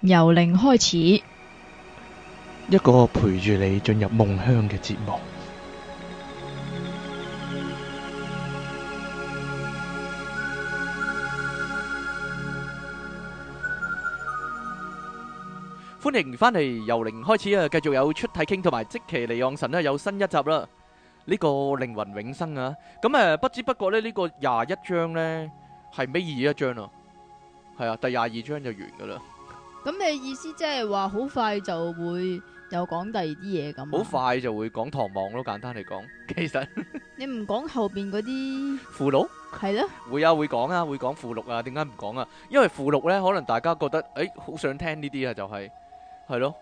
由零開始， 一個陪住你進入夢鄉嘅節目。歡迎翻嚟由零開始啊！繼續有出體傾同埋即其離岸神咧，有新一集啦。呢個靈魂永生啊，咁不知不覺咧，呢個21章呢係尾二一章啊，係啊，第22章就完噶啦。 咁你意思即係話好快就會又講第二啲嘢咁？ 好快就會講唐望咯，簡單嚟講，其實你唔講後邊嗰啲附錄係咯？ 會啊，會講啊，會講附錄啊。點解唔講啊？因為附錄呢，可能大家覺得好想聽呢啲啊，就係咯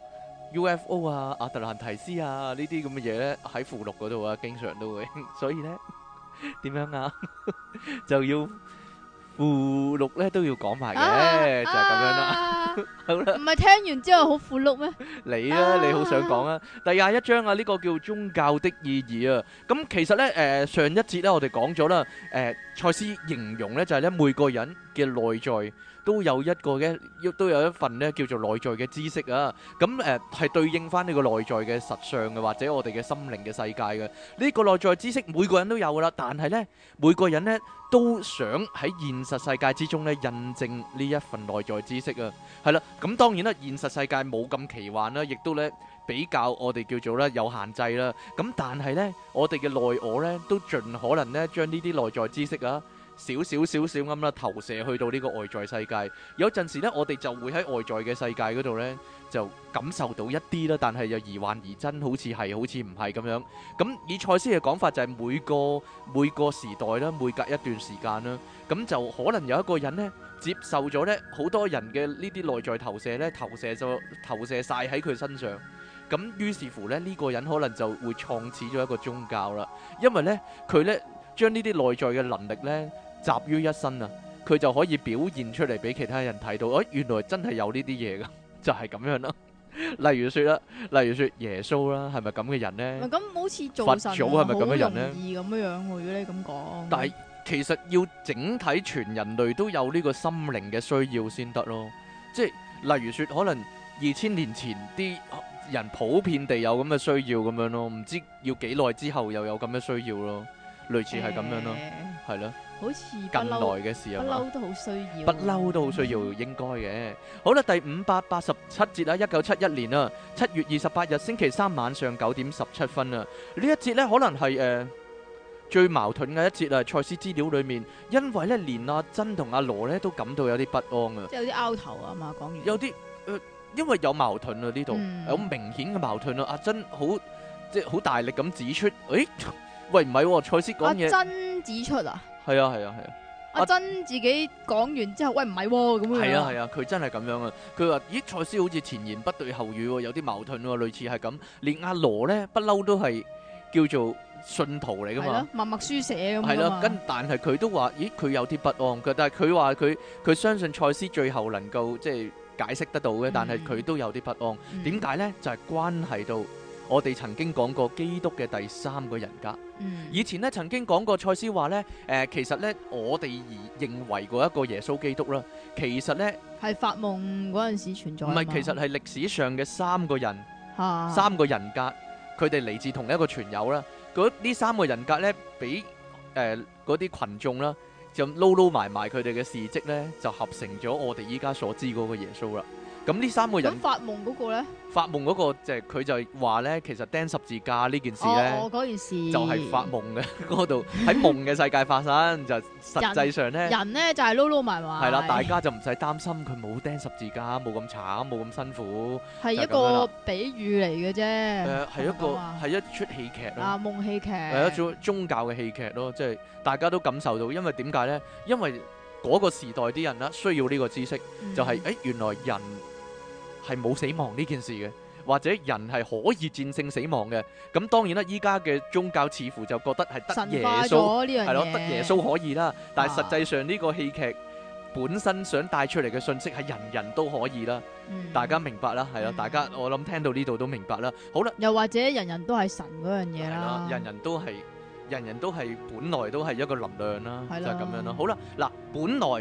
UFO 啊、阿特蘭提斯啊呢啲咁嘅嘢呢，喺附錄嗰度啊，經常都會，所以呢，點樣啊，就要附錄呢都要講埋嘅，就係咁樣啦。好啦， 唔係聽完之後好附錄咩？ 你啊，你好想講啊？第21章啊，呢個叫宗教的意義啊。咁其實呢，上一節呢，我哋講咗啦，賽斯形容呢，就係呢每個人嘅內在都有都有一份呢叫做內在嘅知識啊。咁係對應翻呢個內在嘅實相嘅，或者我哋嘅心靈嘅世界嘅。呢個內在知識每個人都有噶啦，但係呢，每個人呢都想喺現實世界之中呢印證呢一份內在知識啊。係啦，咁當然啦，現實世界冇咁奇幻啦，亦都呢比較我哋叫做呢有限制啦。咁但係呢，我哋嘅內我呢都盡可能呢將呢啲內在知識啊，少少咁啦投射去到呢個外在世界。有陣時呢，我哋就會喺外在嘅世界嗰度呢，就感受到一啲啦，但係又疑幻疑真，好似係好似唔係咁樣。咁以賽斯嘅講法就係每個時代啦，每隔一段時間啦，咁就可能有一個人呢，接受咗呢好多人嘅呢啲內在投射呢，投射晒喺佢身上。咁於是乎呢，呢個人可能就會創始咗一個宗教啦，因為呢，佢呢將呢啲內在嘅能力呢集於一身啊，佢就可以表現出嚟俾其他人睇到，原來真係有呢啲嘢噶，就係咁樣啦。例如說耶穌啦，係咪咁嘅人呢？ 咁好似做神佛祖係咪咁嘅人呢？ 好容易咁樣喎，如果你咁講。 但係其實要整體全人類都有呢個心靈嘅需要先得咯，即係例如說可能2000年前啲人普遍地有咁嘅需要咁樣咯，唔知要幾耐之後又有咁嘅需要咯，類似係咁樣咯，係咯。 好似近來嘅事啊嘛， 不嬲都好需要， 不嬲都好需要，應該嘅。好啦，第587節啊，1971年啊，7月28日星期三晚上9點17分啊，呢一節呢，可能係最矛盾嘅一節啊，賽斯資料裏面，因為呢連阿珍同阿羅呢都感到有啲不安啊， 即係有啲拗頭啊嘛，講完有啲因為有矛盾啊呢度，有明顯嘅矛盾啊，阿珍即係好大力咁指出，喂唔係喎，賽斯講嘢， 阿珍指出啊。 係啊， 阿珍自己講完之後，喂唔係喎咁樣。 係啊，佢真係咁樣啊！佢話：咦，賽斯好似前言不對後語喎，有啲矛盾喎，類似係咁。連阿羅呢，不嬲都係叫做信徒嚟噶嘛， 默默書寫咁啊。 係啦，但係佢都話：咦，佢有啲不安。但係佢話佢相信賽斯最後能夠即係解釋得到嘅，但係佢都有啲不安。點解呢？就係關係到我哋曾經講過基督嘅第3個人格。以前咧曾經講過，賽斯話咧，其實咧我哋認為嗰一個耶穌基督啦，其實咧係發夢嗰陣時存在。唔係，其實係歷史上嘅3個人，3個人格，佢哋嚟自同一個傳友啦。呢3個人格咧，俾嗰啲群眾啦，就撈埋佢哋嘅事蹟咧，就合成咗我哋依家所知嗰個耶穌啦。咁呢3個人， 咁發夢嗰個咧？ 發夢嗰個就係佢就話咧，其實釘十字架呢件事咧， 嗰件事就係發夢嘅嗰度，喺夢嘅世界發生，就實際上咧， 人咧就係撈撈埋埋。 係啦，大家就唔使擔心佢冇釘十字架，冇咁慘，冇咁辛苦， 係一個比喻嚟嘅啫。 係一出戲劇咯。 夢戲劇係一種宗教嘅戲劇咯，即係大家都感受到，因為點解咧？因為嗰個時代啲人啦，需要呢個知識，就係原來人係冇死亡呢件事嘅，或者人係可以戰勝死亡嘅。咁當然啦，依家嘅宗教似乎就覺得係得耶穌係咯，得耶穌可以啦。但係實際上呢個戲劇本身想帶出嚟嘅信息係人人都可以啦。大家明白啦，係咯，大家我諗聽到呢度都明白啦。好啦， 又或者人人都係神嗰樣嘢啦， 人人都係本來都係一個能量啦，就係咁樣咯。好啦，嗱，本來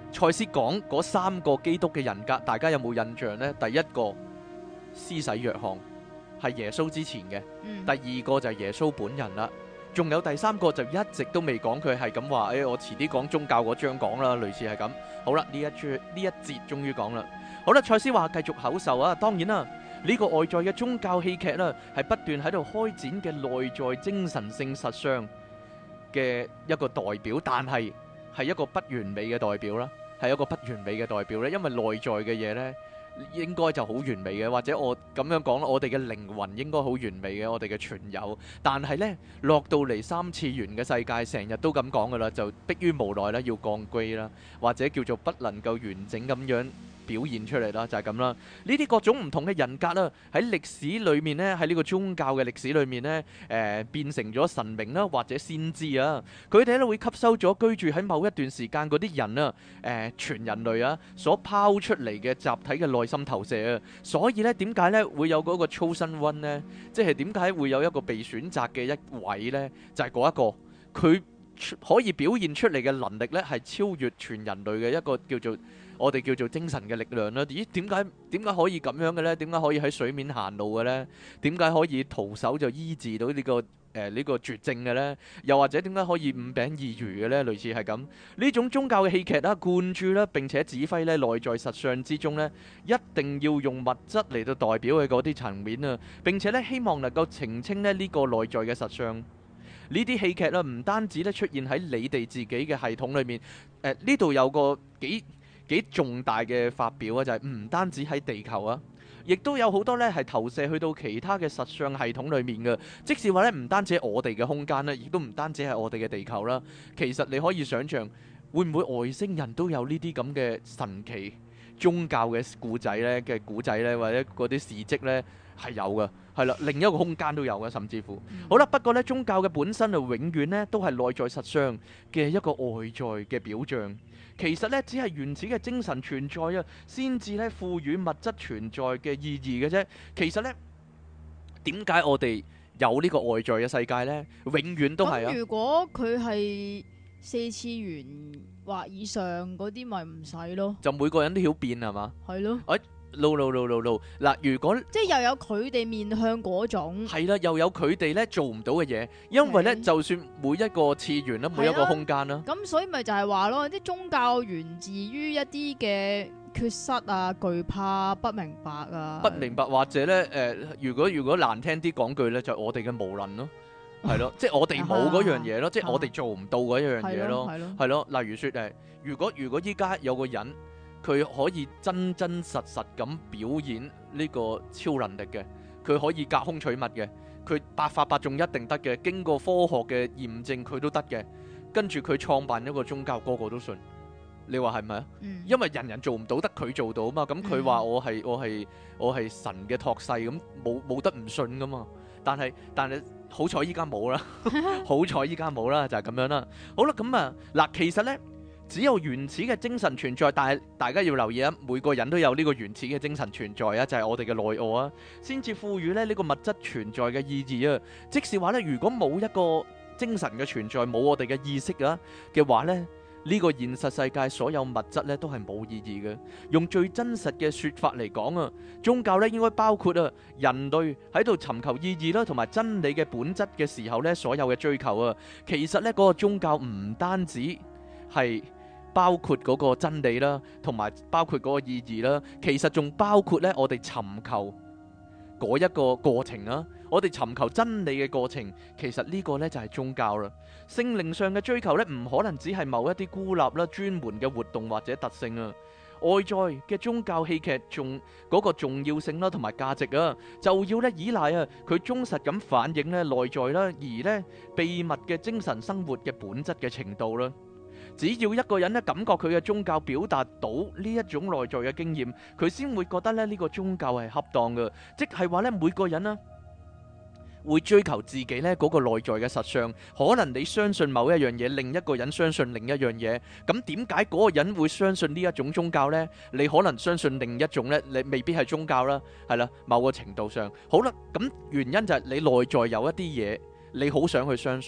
賽斯講嗰三個基督嘅人格，大家有冇印象呢？第一個施洗約翰係耶穌之前嘅，第二個就係耶穌本人啦。仲有第三個就一直都未講，佢係咁話，我遲啲講宗教嗰章講啦，類似係咁。好啦，呢一節終於講啦。好啦，賽斯話繼續口授啊，當然啦，呢個外在嘅宗教戲劇啦，係不斷喺度開展嘅內在精神性實相嘅一個代表，但係一個不完美嘅代表啦，係一個不完美嘅代表咧，因為內在嘅嘢呢，應該就好完美嘅，或者我咁樣講啦，我哋嘅靈魂應該好完美嘅，我哋嘅存有。但係呢，落到嚟三次元嘅世界，成日都咁講噶啦，就迫於無奈啦，要降歸啦，或者叫做不能夠完整咁樣表現出嚟啦，就係咁啦。呢啲各種唔同嘅人格啦，喺歷史裏面呢，喺呢個宗教嘅歷史裏面呢，變成咗神明啦，或者先知啊。佢哋咧會吸收咗居住喺某一段時間嗰啲人啊，全人類啊所拋出嚟嘅集體嘅內心投射啊。所以呢，點解呢會有嗰個 chosen one 呢？即係點解會有一個被選擇嘅一位呢？就係嗰一個，佢可以表現出嚟嘅能力呢，係超越全人類嘅一個我哋叫做精神嘅力量啦。咦？點解可以咁樣嘅呢？點解可以喺水面行路嘅呢？點解可以徒手就醫治到呢個絕症嘅呢？又或者點解可以五餅二魚嘅呢？類似係咁。呢種宗教嘅戲劇啦、灌注啦，並且指揮呢內在實相之中呢，一定要用物質嚟到代表嘅嗰啲層面啊。並且呢，希望能夠澄清呢個內在嘅實相。呢啲戲劇啦，唔單止咧出現喺你哋自己嘅系統裏面，呢度有個幾重大嘅發表啊，就係唔單止喺地球啊，亦都有好多咧係投射去到其他嘅實相系統裏面嘅。即使話咧唔單止係我哋嘅空間咧，亦都唔單止係我哋嘅地球啦。其實你可以想象，會唔會外星人都有呢啲咁嘅神奇宗教嘅古仔呢？或者嗰啲事蹟呢？係有嘅，係啦，另一個空間都有嘅，甚至乎。好啦，不過呢，宗教嘅本身就永遠呢都係內在實相嘅一個外在嘅表象。其實呢，只係原始嘅精神存在啊，先至呢賦予物質存在嘅意義嘅啫。其實呢，點解我哋有呢個外在嘅世界呢？永遠都係啊。 咁如果佢係4次元或以上嗰啲，咪唔使咯。就每個人都曉變係嘛？ 係咯。 no 嗱，如果即係又有佢哋面向嗰種， 係啦，又有佢哋咧做唔到嘅嘢，因為咧就算每一個次元啦，每一個空間啦，咁所以咪就係話咯，啲宗教源自於一啲嘅缺失啊、懼怕、不明白啊，不明白或者咧如果難聽啲講句咧，就係我哋嘅無能咯，係咯，即係我哋冇嗰樣嘢咯，即係我哋做唔到嗰一樣嘢咯，係咯，例如說如果依家有個人，佢可以真真實實咁表演呢個超能力嘅，佢可以隔空取物嘅，佢百發百中一定得嘅，經過科學嘅驗證佢都得嘅，跟住佢創辦一個宗教，個個都信，你話係咪啊？因為人人做唔到，得佢做到啊嘛，咁佢話我係神嘅託世，咁冇得唔信噶嘛，但係好彩依家冇啦，好彩依家冇啦，就係咁樣啦。好啦，咁啊嗱，其實呢，只有原始嘅精神存在，但係大家要留意啊，每個人都有呢個原始嘅精神存在啊，就係我哋嘅內我啊，先至賦予咧呢個物質存在嘅意義啊。即是話咧，如果冇一個精神嘅存在，冇我哋嘅意識啊嘅話咧，呢個現實世界所有物質咧都係冇意義嘅。用最真實嘅說法嚟講啊，宗教咧應該包括啊人類喺度尋求意義啦，同埋真理嘅本質嘅時候咧，所有嘅追求啊，其實咧嗰個宗教唔單止係包括嗰個真理啦，同埋包括嗰個意義啦，其實仲包括咧我哋尋求嗰一個過程啊，我哋尋求真理嘅過程，其實呢個呢就係宗教啦。聖靈上嘅追求呢，唔可能只係某一啲孤立啦、專門嘅活動或者特性啊。外在嘅宗教戲劇仲嗰個重要性啦，同埋價值啊，就要咧依賴啊佢忠實咁反映咧內在啦，而呢秘密嘅精神生活嘅本質嘅程度啦。只要一個人咧感覺佢嘅宗教表達到呢一種內在嘅經驗，佢先會覺得咧呢個宗教係恰當嘅，即係話咧每個人咧會追求自己咧嗰個內在嘅實相。可能你相信某一樣嘢，另一個人相信另一樣嘢，咁點解嗰個人會相信呢一種宗教呢？你可能相信另一種呢，你未必係宗教啦，係啦，某個程度上。好啦，咁原因就係你內在有一啲嘢，你好想去相信。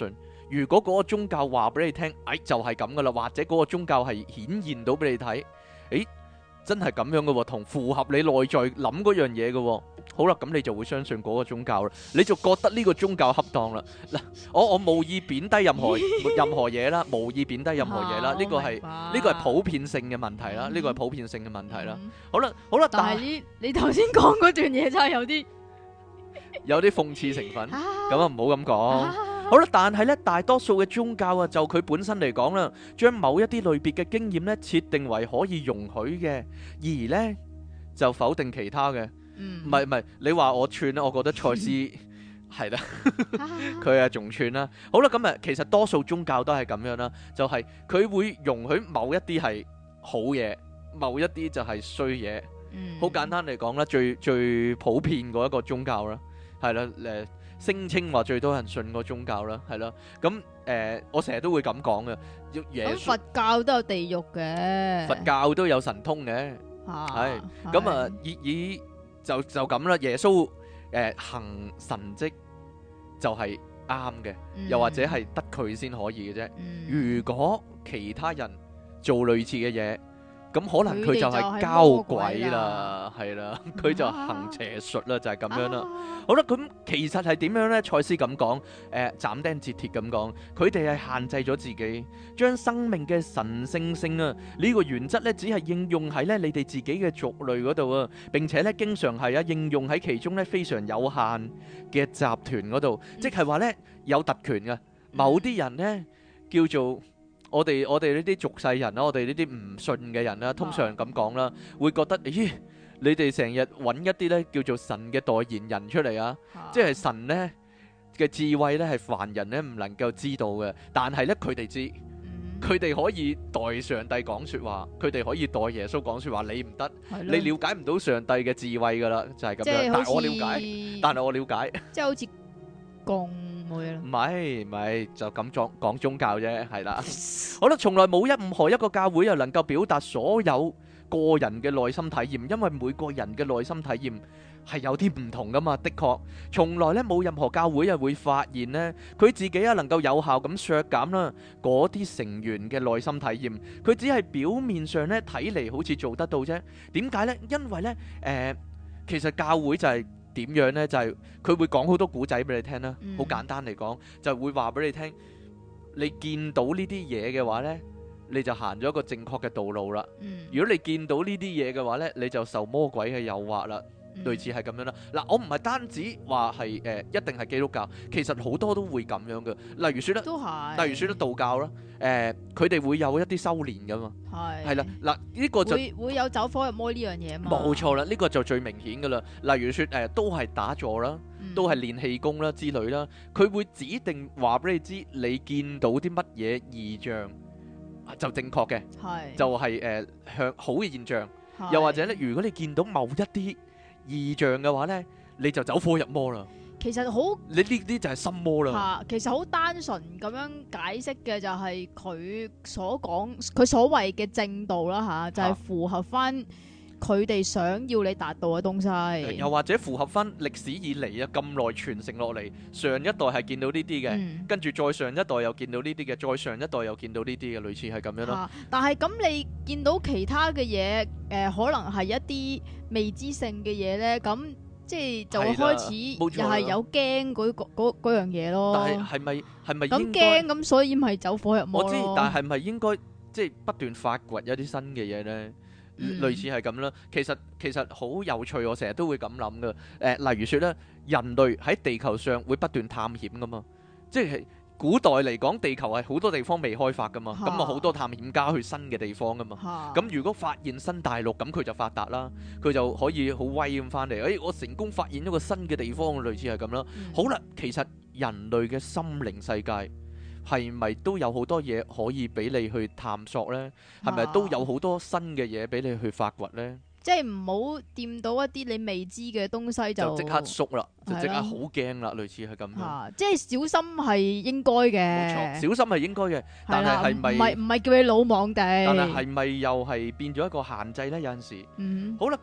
如果嗰個宗教話俾你聽，就係咁噶啦，或者嗰個宗教係顯現到俾你睇，真係咁樣嘅喎，同符合你內在諗嗰樣嘢嘅喎。好啦，咁你就會相信嗰個宗教啦，你就覺得呢個宗教恰當啦。嗱，我無意貶低任何嘢啦，無意貶低任何嘢啦，呢個係普遍性嘅問題啦，呢個係普遍性嘅問題啦。好啦， 但係你頭先講嗰段嘢真係有啲諷刺成分，咁啊唔好咁講。好啦，但係咧，大多數嘅宗教啊，就佢本身嚟講啦，將某一啲類別嘅經驗咧設定為可以容許嘅，而咧就否定其他嘅。唔係，你話我串啦，我覺得賽斯係啦，佢啊仲串啦。好啦，咁啊，其實多數宗教都係咁樣啦，就係佢會容許某一啲係好嘢，某一啲就係衰嘢。好簡單嚟講啦，最普遍嗰一個宗教啦，係啦，聲稱話最多人信個宗教啦，係咯。咁我成日都會咁講嘅。 咁佛教都有地獄嘅， 佛教都有神通嘅，係咁啊。就咁啦。耶穌行神蹟就係啱嘅，又或者係得佢先可以嘅啫。如果其他人做類似嘅嘢，咁可能佢就係交鬼啦，係啦，佢就行邪術啦，就係咁樣啦。好啦，咁其實係點樣呢？賽斯咁講，斬釘截鐵咁講，佢哋係限制咗自己，將生命嘅神聖性啊呢個原則呢，只係應用喺呢你哋自己嘅族類嗰度啊，並且呢經常係應用喺其中呢非常有限嘅集團嗰度，即係話呢有特權嘅某啲人呢叫做。我哋呢啲俗世人啦，我哋呢啲唔信嘅人啦，通常咁講啦，會覺得咦，你哋成日揾一啲呢叫做神嘅代言人出嚟啊，即係神呢嘅智慧呢係凡人呢唔能夠知道嘅，但係呢佢哋知，佢哋可以代上帝講說話，佢哋可以代耶穌講說話，你唔得，你了解唔到上帝嘅智慧噶啦，就係咁樣。但係我了解，即係好似共。 唔係就咁講宗教啫，係啦。好啦，從來冇任何一個教會又能夠表達所有個人嘅內心體驗，因為每個人嘅內心體驗係有啲唔同噶嘛。的確，從來咧冇任何教會會發現呢，佢自己能夠有效咁削減啦嗰啲成員嘅內心體驗，佢只係表面上咧睇嚟好似做得到啫。點解呢？因為呢，其實教會就係。點樣呢？就係佢會講好多古仔俾你聽啦。好簡單嚟講，就會話俾你聽，你見到呢啲嘢嘅話呢，你就行咗一個正確嘅道路啦。如果你見到呢啲嘢嘅話呢，你就受魔鬼嘅誘惑啦。類似係咁樣啦。嗱，我唔係單止話係一定係基督教，其實好多都會咁樣嘅。例如説咧，例如説咧道教啦，佢哋會有一啲修練噶嘛。係啦，嗱呢個就會有走火入魔呢樣嘢嘛。 冇錯啦，呢個就最明顯噶啦。例如説都係打坐啦，都係練氣功啦之類啦，佢會指定話俾你知，你見到啲乜嘢異象就正確嘅，就係向好嘅現象。又或者咧，如果你見到某一啲異象嘅話呢，你就走火入魔啦。 其實好， 你呢啲就係心魔啦。 其實好單純咁樣解釋嘅就係佢所講，佢所謂嘅正道啦就係符合翻佢哋想要你達到嘅東西。又或者符合翻歷史以嚟咁耐傳承落嚟，上一代係見到呢啲嘅，跟住再上一代又見到呢啲嘅，再上一代又見到呢啲嘅，類似係咁樣咯。 但係咁你見到其他嘅嘢，可能係一啲未知性嘅嘢咧，咁即係就會開始又係有驚嗰樣嘢咯。 但係係咪咁驚咁，所以咪走火入魔咯。 我知，但係咪應該即係不斷發掘一啲新嘅嘢咧？類似係咁啦。其實好有趣，我成日都會咁諗噶。例如說咧，人類喺地球上會不斷探險噶嘛，即係。古代嚟講，地球係好多地方未開發噶嘛，咁啊好多探險家去新嘅地方噶嘛，咁如果發現新大陸，咁佢就發達啦，佢就可以好威咁翻嚟，我成功發現一個新嘅地方，類似係咁啦。好啦，其實人類嘅心靈世界係咪都有好多嘢可以俾你去探索呢？係咪都有好多新嘅嘢俾你去發掘呢？ 即係唔好掂到一啲你未知嘅東西就即刻縮啦，就即刻好驚啦，類似係咁樣。 即係小心係應該嘅， 冇錯，小心係應該嘅。但係唔係叫你魯莽地？ 但係咪又係變咗一個限制呢？有陣時，好啦，咁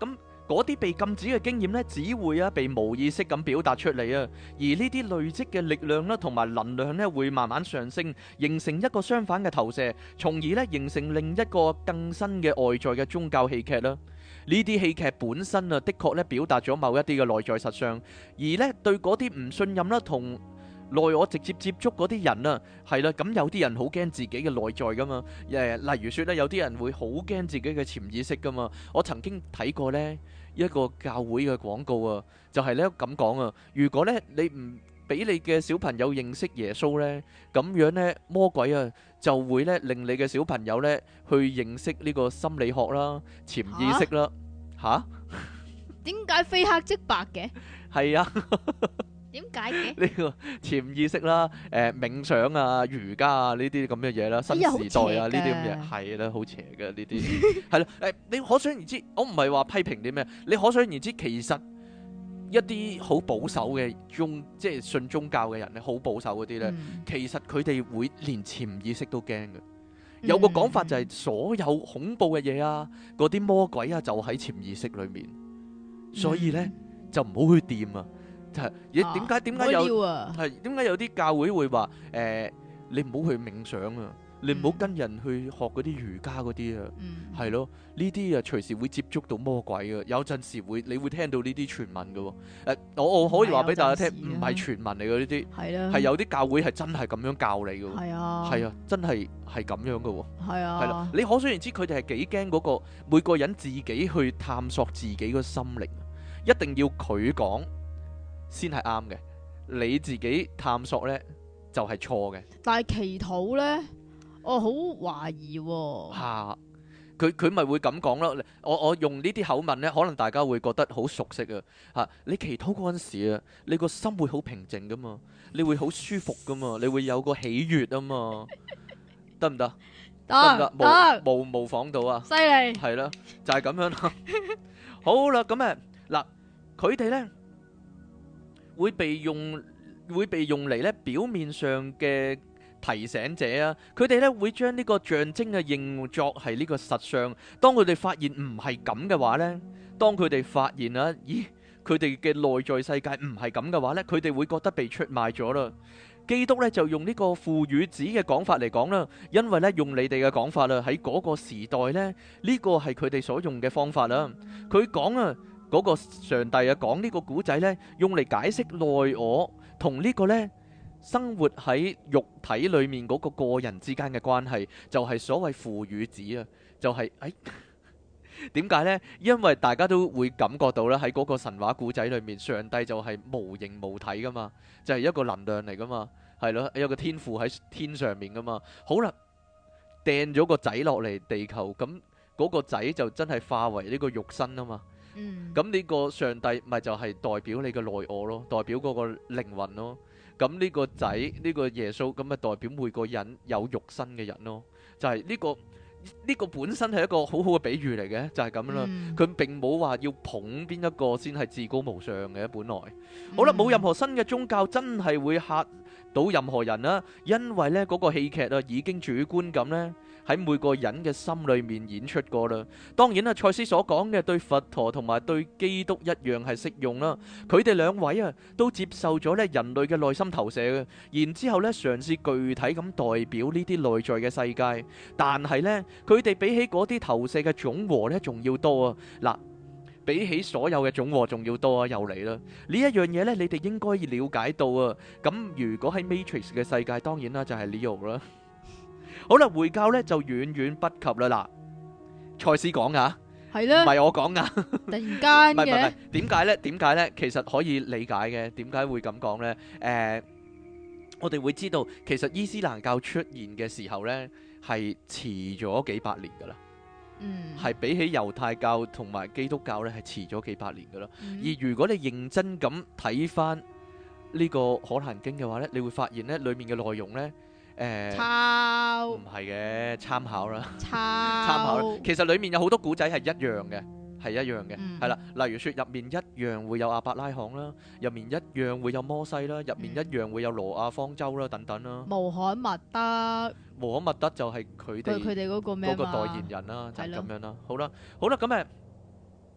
嗰啲被禁止嘅經驗呢，只會被無意識咁表達出嚟啊。而呢啲累積嘅力量啦，同埋能量呢，會慢慢上升，形成一個相反嘅投射，從而呢形成另一個更新嘅外在嘅宗教戲劇啦。呢啲戲劇本身啊，的確呢表達咗某一啲嘅內在實相，而呢對嗰啲唔信任啦同內我直接接觸嗰啲人啊，係啦，咁有啲人好驚自己嘅內在噶嘛，例如說咧，有啲人會好驚自己嘅潛意識噶嘛。我曾經睇過呢一個教會嘅廣告啊，就係咧咁講啊，如果咧你唔俾你嘅小朋友認識耶穌呢，咁樣呢魔鬼啊就會咧令你嘅小朋友呢去認識呢個心理學啦、潛意識啦。吓？ 點解非黑即白嘅？ 係啊。 點解嘅？ 呢個潛意識啦、冥想啊、瑜伽啊呢啲咁嘅嘢啦、新時代啊呢啲咁嘢係啦，好邪嘅呢啲係啦。你可想而知，我唔係話批評啲咩，你可想而知，其實一啲好保守嘅即係信宗教嘅人咧，好保守嗰啲咧，其實佢哋會連潛意識都驚嘅。有個講法就係所有恐怖嘅嘢啊，嗰啲魔鬼啊，就喺潛意識裏面，所以咧就唔好去掂啊。係，點解有啲教會會話你唔好去冥想啊，你唔好跟人去學嗰啲瑜伽嗰啲啊，係咯，呢啲啊隨時會接觸到魔鬼嘅，有陣時你會聽到呢啲傳聞嘅喎。我可以話俾大家聽，唔係傳聞嚟嘅呢啲，係有啲教會係真係咁樣教你嘅喎，係啊，真係咁樣嘅喎，係啦，你可想而知佢哋係幾驚嗰個每個人自己去探索自己個心靈，一定要佢講先係啱嘅，你自己探索呢就係錯嘅。但係祈禱呢，我好懷疑喎。 嚇，佢咪會咁講咯？我用呢啲口吻呢，可能大家會覺得好熟悉啊。嚇，你祈禱嗰陣時啊，你個心會好平靜噶嘛，你會好舒服噶嘛，你會有個喜悅啊嘛，得唔得？得唔得？模仿到啊！ 犀利。 係啦，就係咁樣啦。好啦，咁嗱，佢哋呢，會被用嚟咧表面上嘅提醒者啊，佢哋咧會將呢個象徵啊認作係呢個實相。當佢哋發現唔係咁嘅話呢，當佢哋發現啊，咦，佢哋嘅內在世界唔係咁嘅話呢，佢哋會覺得被出賣咗啦。基督咧就用呢個父與子嘅講法嚟講啦，因為咧用你哋嘅講法啦，喺嗰個時代咧，呢個係佢哋所用嘅方法啦。佢講啊，嗰個上帝啊講呢個古仔咧，用嚟解釋內我同呢個咧生活喺肉體裏面嗰個個人之間嘅關係，就係所謂父與子啊，就係點解呢？因為大家都會感覺到啦，喺嗰個神話古仔裏面，上帝就係無形無體噶嘛，就係一個能量嚟噶嘛，係咯，有個天父喺天上面噶嘛。好啦，掟咗個仔落嚟地球，咁嗰個仔就真係化為呢個肉身啊嘛。咁呢個上帝咪就係代表你嘅內我咯，代表嗰個靈魂咯。咁呢個仔呢個耶穌咁咪代表每個人有肉身嘅人咯，就係呢個本身係一個好好嘅比喻嚟嘅，就係咁啦。佢並冇話要捧邊一個先係至高無上嘅，本來。好啦，冇任何新嘅宗教真係會嚇到任何人啦，因為呢嗰個戲劇啊已經主觀咁呢喺每個人嘅心裏面演出過啦。當然啦，賽斯所講嘅對佛陀同埋對基督一樣係適用啦。佢哋兩位啊都接受咗呢人類嘅內心投射嘅，然之後呢嘗試具體咁代表呢啲內在嘅世界，但係呢佢哋比起嗰啲投射嘅總和呢仲要多啊！嗱，比起所有嘅總和仲要多啊！又嚟啦！呢一樣嘢呢，你哋應該了解到啊。咁如果喺 Matrix 嘅世界，當然啦就係 Neo 啦。好啦，回教呢就遠遠不及啦。嗱，賽斯講噶，係啦，唔係我講噶。 突然間嘅，唔係， 點解呢？點解呢？其實可以理解嘅。點解會咁講呢？我哋會知道，其實伊斯蘭教出現嘅時候呢，係遲咗幾百年噶啦。係比起猶太教同埋基督教呢，係遲咗幾百年噶啦。而如果你認真咁睇翻呢個《可蘭經》嘅話呢，你會發現呢裏面嘅內容呢。抄唔係嘅，參考啦，參考啦。其實裏面有好多古仔係一樣嘅，係一樣嘅，係啦。例如說入面一樣會有亞伯拉罕啦，入面一樣會有摩西啦，入面一樣會有挪亞方舟啦，等等啦。穆罕默德就係佢哋嗰個咩嘛？嗰個代言人啦，就係咁樣啦。好啦，咁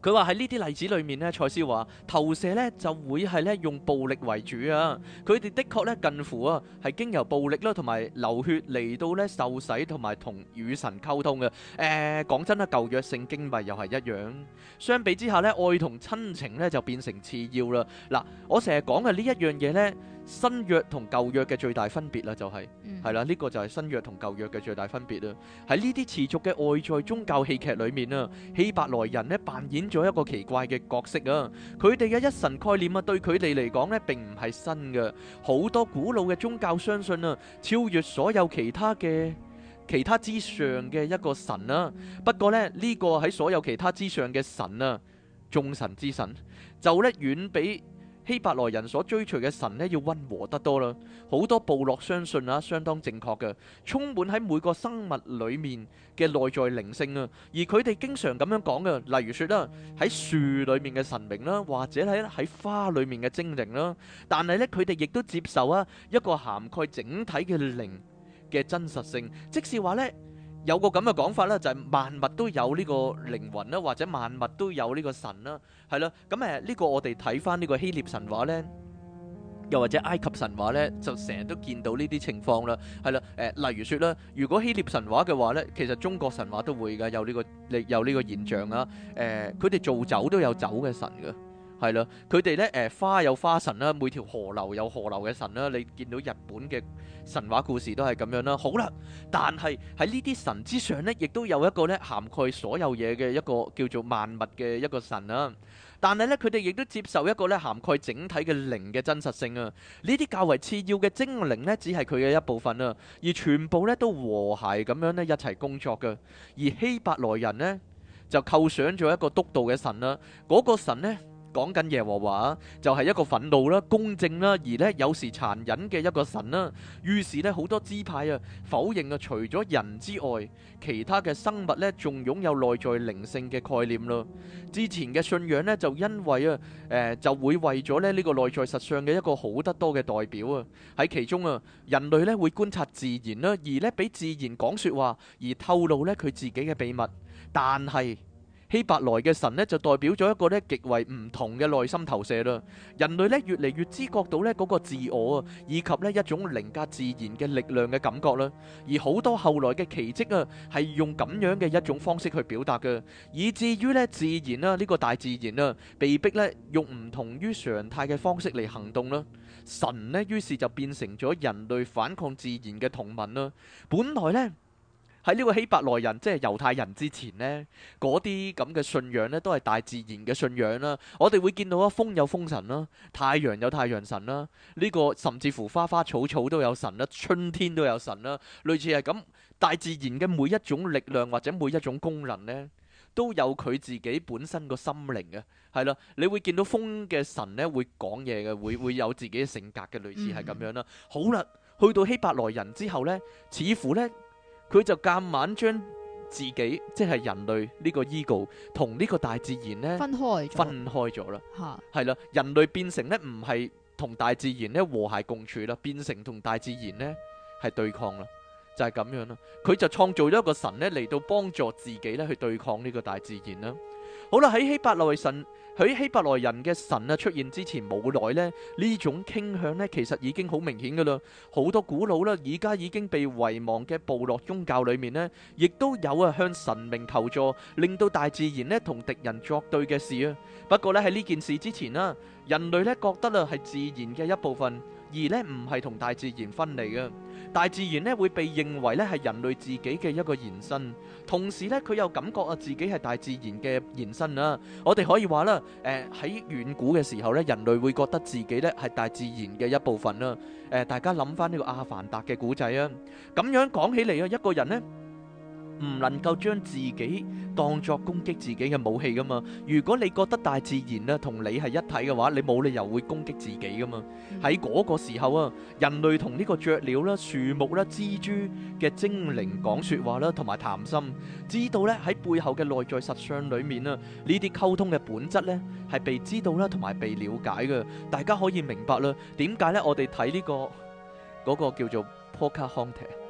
佢話喺呢啲例子裏面呢，賽斯話投射呢就會係呢用暴力為主啊。佢哋的確呢近乎啊係經由暴力啦同埋流血嚟到呢受洗同埋同與神溝通嘅。講真啦，舊約聖經咪又係一樣。相比之下呢，愛同親情呢就變成次要啦。嗱，我成日講嘅呢一樣嘢呢，新約同舊約嘅最大分別啦，就係係啦，呢個就係新約同舊約嘅最大分別啦。喺呢啲持續嘅外在宗教戲劇裏面啊，希伯來人呢扮演咗一個奇怪嘅角色啊。佢哋嘅一神概念啊，對佢哋嚟講呢並唔係新嘅。好多古老嘅宗教相信啊，超越所有其他之上嘅一個神啊。不過呢，呢個喺所有其他之上嘅神啊，眾神之神就呢遠比希伯來人所追隨嘅神呢要溫和得多啦。好多部落相信啊，相當正確嘅，充滿喺每個生物裏面嘅內在靈性啊。而佢哋經常咁樣講嘅，例如說啦，喺樹裏面嘅神明啦，或者喺花裏面嘅精靈啦。但係呢，佢哋亦都接受啊一個涵蓋整體嘅靈嘅真實性，即是話呢，有個咁嘅講法啦，就係萬物都有呢個靈魂啦，或者萬物都有呢個神啦，係啦。咁呢個我哋睇翻呢個希臘神話呢，又或者埃及神話呢，就成日都見到呢啲情況啦，係啦。例如說啦，如果希臘神話嘅話呢，其實中國神話都會㗎，有呢個現象啊。佢哋做酒都有酒嘅神㗎。係啦，佢哋咧花有花神啦，每條河流有河流嘅神啦。你見到日本嘅神話故事都係咁樣啦。好啦，但係喺呢啲神之上呢，亦都有一個咧涵蓋所有嘢嘅一個叫做萬物嘅一個神啦。但係咧，佢哋亦都接受一個咧涵蓋整體嘅靈嘅真實性啊。呢啲較為次要嘅精靈呢，只係佢嘅一部分啊，而全部咧都和諧咁樣咧一齊工作嘅。而希伯來人呢，就構想咗一個督導嘅神啦，嗰個神呢，講緊耶和華，就係一個憤怒啦、公正啦，而呢有時殘忍嘅一個神啦。於是呢，好多支派啊否認啊，除咗人之外，其他嘅生物呢仲擁有內在靈性嘅概念咯。之前嘅信仰呢，就因為就會為咗呢個內在實相嘅一個好得多嘅代表啊。喺其中啊，人類呢會觀察自然啦，而呢俾自然講說話，而透露呢佢自己嘅秘密。但係希伯來嘅神呢，就代表咗一個呢極為唔同嘅內心投射啦。人類呢越嚟越知覺到呢嗰個自我啊，以及呢一種凌駕自然嘅力量嘅感覺啦。而好多後來嘅奇蹟啊，係用咁樣嘅一種方式去表達嘅，以至於呢自然啦，呢個大自然啊，被逼呢用唔同於常態嘅方式嚟行動啦。神呢於是就變成咗人類反抗自然嘅同盟啦。本來呢，喺呢個希伯來人即係猶太人之前呢，嗰啲咁嘅信仰呢，都係大自然嘅信仰啦。我哋會見到啊，風有風神啦，太陽有太陽神啦，呢個甚至乎花花草草都有神啦，春天都有神啦，類似係咁。大自然嘅每一種力量或者每一種功能呢，都有佢自己本身個心靈嘅，係啦。你會見到風嘅神呢，會講嘢嘅，會有自己嘅性格嘅，類似係咁樣啦。好啦，去到希伯來人之後呢，似乎呢，佢就夾硬將自己即係人類呢個 ego 同呢個大自然呢分開咗啦。係啦，人類變成呢唔係同大自然呢和諧共處啦，變成同大自然呢係對抗啦，就係咁樣啦。佢就創造咗一個神呢嚟到幫助自己呢去對抗呢個大自然啦。好啦，喺希伯來人嘅神啊出現之前冇耐呢，呢種傾向呢其實已經好明顯噶啦。好多古老啦，而家已經被遺忘嘅部落宗教裏面呢，亦都有啊向神明求助，令到大自然呢同敵人作對嘅事啊。不過呢，喺呢件事之前啦，人類呢覺得啊係自然嘅一部分，而呢唔係同大自然分離嘅。大自然呢會被認為呢係人類自己嘅一個延伸，同時呢佢又感覺啊自己係大自然嘅延伸啊。我哋可以話啦，喺遠古嘅時候呢，人類會覺得自己呢係大自然嘅一部分啦。大家諗翻呢個阿凡達嘅古仔啊，咁樣講起嚟啊，一個人呢唔能夠將自己當作攻擊自己嘅武器噶嘛。如果你覺得大自然啊同你係一體嘅話，你冇理由會攻擊自己噶嘛。喺嗰個時候啊，人類同呢個雀鳥啦、樹木啦、蜘蛛嘅精靈講說話啦，同埋談心，知道咧喺背後嘅內在實相裏面啊，呢啲溝通嘅本質咧係被知道啦，同埋被了解嘅。大家可以明白啦，點解咧我哋睇呢個嗰個叫做 Pocahontas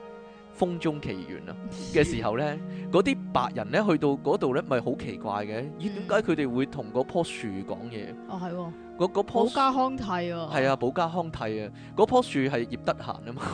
風中奇緣啊嘅時候咧，嗰啲白人咧去到嗰度咧，咪好奇怪嘅？咦，點解佢哋會同嗰棵樹講嘢？ 哦係喎， 嗰棵保加康蒂喎， 係啊，保加康蒂啊，嗰棵樹係葉德嫻啊嘛，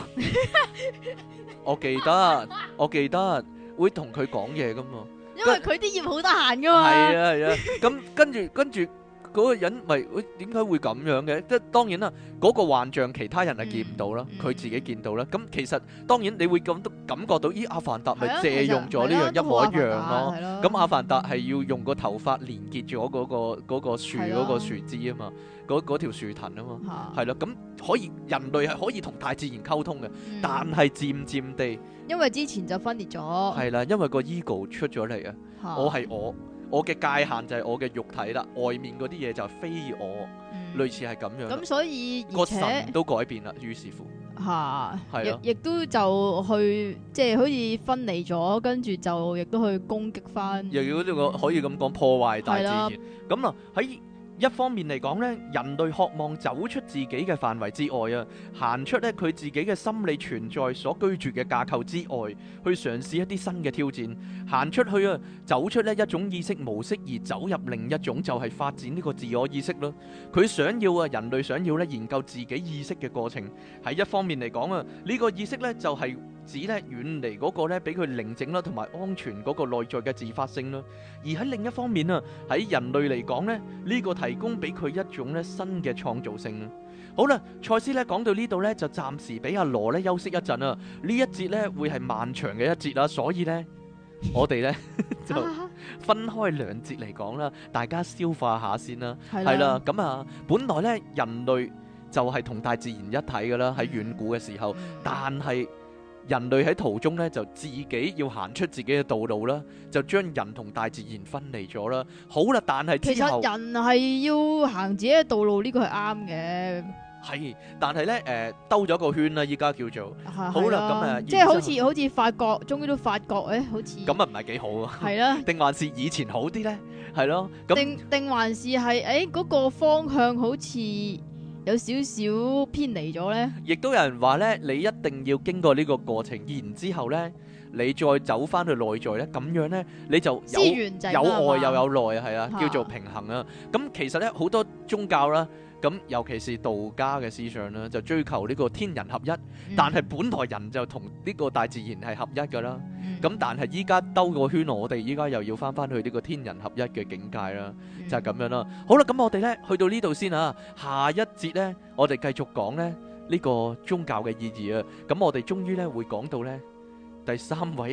我記得會同佢講嘢噶嘛， 因為佢啲葉好得閒噶嘛。 係啊，咁跟住嗰個人咪點解會咁樣嘅？即係當然啦，嗰個幻象其他人係見唔到啦，佢自己見到啦。咁其實當然你會感覺到，咦，阿凡達咪借用咗呢樣一模一樣咯。咁阿凡達係要用個頭髮連結咗嗰個樹嗰個樹枝啊嘛，嗰條樹藤啊嘛，係咯。咁可以人類係可以同大自然溝通嘅，但係漸漸地， 因為之前就分裂咗， 係啦，因為個 ego 出咗嚟啊，我係我嘅界限就係我嘅肉體啦，外面嗰啲嘢就係非我，類似係咁樣。咁所以個神都改變啦，於是乎亦都就去即係好似分離咗，跟住就亦都去攻擊翻， 又要呢個可以咁講破壞大自然。咁啊喺一方面嚟講呢，人類渴望走出自己嘅範圍之外啊，行出呢佢自己嘅心理存在所居住嘅架構之外，去嘗試一啲新嘅挑戰，行出去啊，走出呢一種意識模式，而走入另一種，就係發展呢個自我意識咯。佢想要啊，人類想要呢研究自己意識嘅過程。喺一方面嚟講啊，呢個意識呢就係指呢遠離嗰個呢俾佢寧靜啦同埋安全嗰個內在嘅自發性啦。而喺另一方面啊，喺人類嚟講呢，呢個提供俾佢一種咧新嘅創造性。好啦，賽斯咧講到呢度咧，就暫時俾阿羅咧休息一陣啊。呢一節咧會係漫長嘅一節啦，所以咧我哋咧就分開兩節嚟講啦，大家消化下先啦。係啦，咁啊，本來咧人類就係同大自然一體噶啦，喺遠古嘅時候，但係人類喺途中咧就自己要行出自己嘅道路啦，就將人同大自然分離咗啦。好啦，但係之後其實人係要行自己嘅道路，呢個係啱嘅。 係，但係咧兜咗個圈啦，依家叫做好啦。咁即係好似發覺，終於都發覺好似咁啊，唔係幾好啊。 係啦， 定還是以前好啲咧？係咯， 定還是係嗰個方向好似有少少偏離咗呢？ 亦都有人話呢，你一定要經過呢個過程，然之後呢，你再走翻去內在呢，咁樣呢，你就有外又有內，係啊，叫做平衡啊。咁其實呢，好多宗教啦，咁尤其是道家嘅思想啦，就追求呢個天人合一，但係本來人就同呢個大自然係合一噶啦。咁但係依家兜個圈，我哋依家又要翻翻去呢個天人合一嘅境界啦，就係咁樣啦。好啦，咁我哋呢去到呢度先啊，下一節呢，我哋繼續講呢個宗教嘅意義啊。咁我哋終於呢會講到呢第三位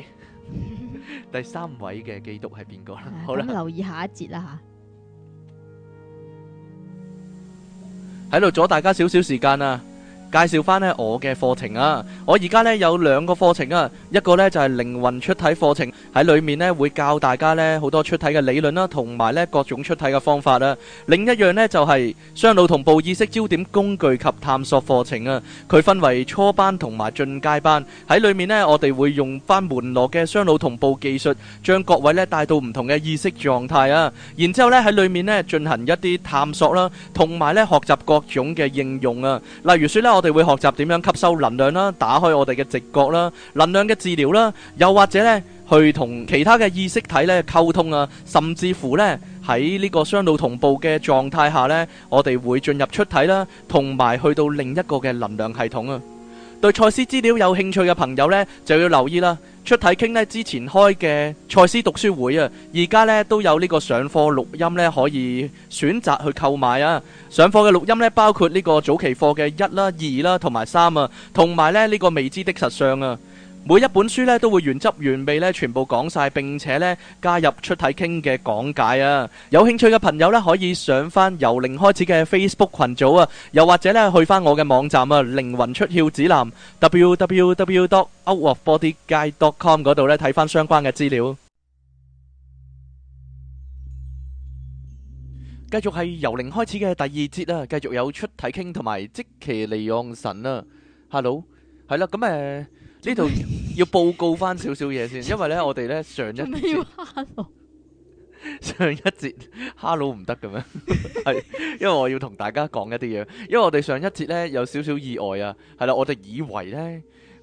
嘅基督係邊個啦？好啦， 咁留意下一節啦吓，喺度阻大家少少時間啊。介紹翻呢我嘅課程啊，我而家呢有兩個課程啊，一個呢就係靈魂出體課程，喺裏面呢會教大家呢好多出體嘅理論啦，同埋呢各種出體嘅方法啊。另一樣呢就係雙腦同步意識焦點工具及探索課程啊，佢分為初班同埋進階班，喺裏面呢我哋會用翻門羅嘅雙腦同步技術，將各位呢帶到唔同嘅意識狀態啊，然之後呢喺裏面呢進行一啲探索啦，同埋呢學習各種嘅應用啊，例如說呢我哋會學習點樣吸收能量啦，打開我哋嘅直覺啦，能量嘅治療啦，又或者呢去同其他嘅意識體呢溝通啊，甚至乎呢喺呢個雙腦同步嘅狀態下呢，我哋會進入出體啦，同埋去到另一個嘅能量系統啊。對賽斯資料有興趣嘅朋友呢，就要留意啦。出體傾呢之前開嘅賽斯讀書會啊，而家呢都有呢個上課錄音呢可以選擇去購買啊。上課嘅錄音呢包括呢個早期課嘅1啦、2啦同埋3啊，同埋呢個未知的實相啊。每一本書呢都會原汁原味呢全部講晒，並且呢加入出體傾嘅講解啊！有興趣嘅朋友呢可以上翻由零開始嘅 Facebook 群組啊，又或者呢去翻我嘅網站啊，靈魂出竅指南 www.outofbodyguide.com 嗰度呢睇翻相關嘅資料。繼續係由零開始嘅第二節啊，繼續有出體傾同埋即其利昂神啊 ，Hello， 係啦，咁呢度要報告翻少少嘢先，因為呢我哋呢上一節Hello 唔得嘅咩？係因為我要同大家講一啲嘢，因為我哋上一節呢有少少意外啊，係啦，我哋以為呢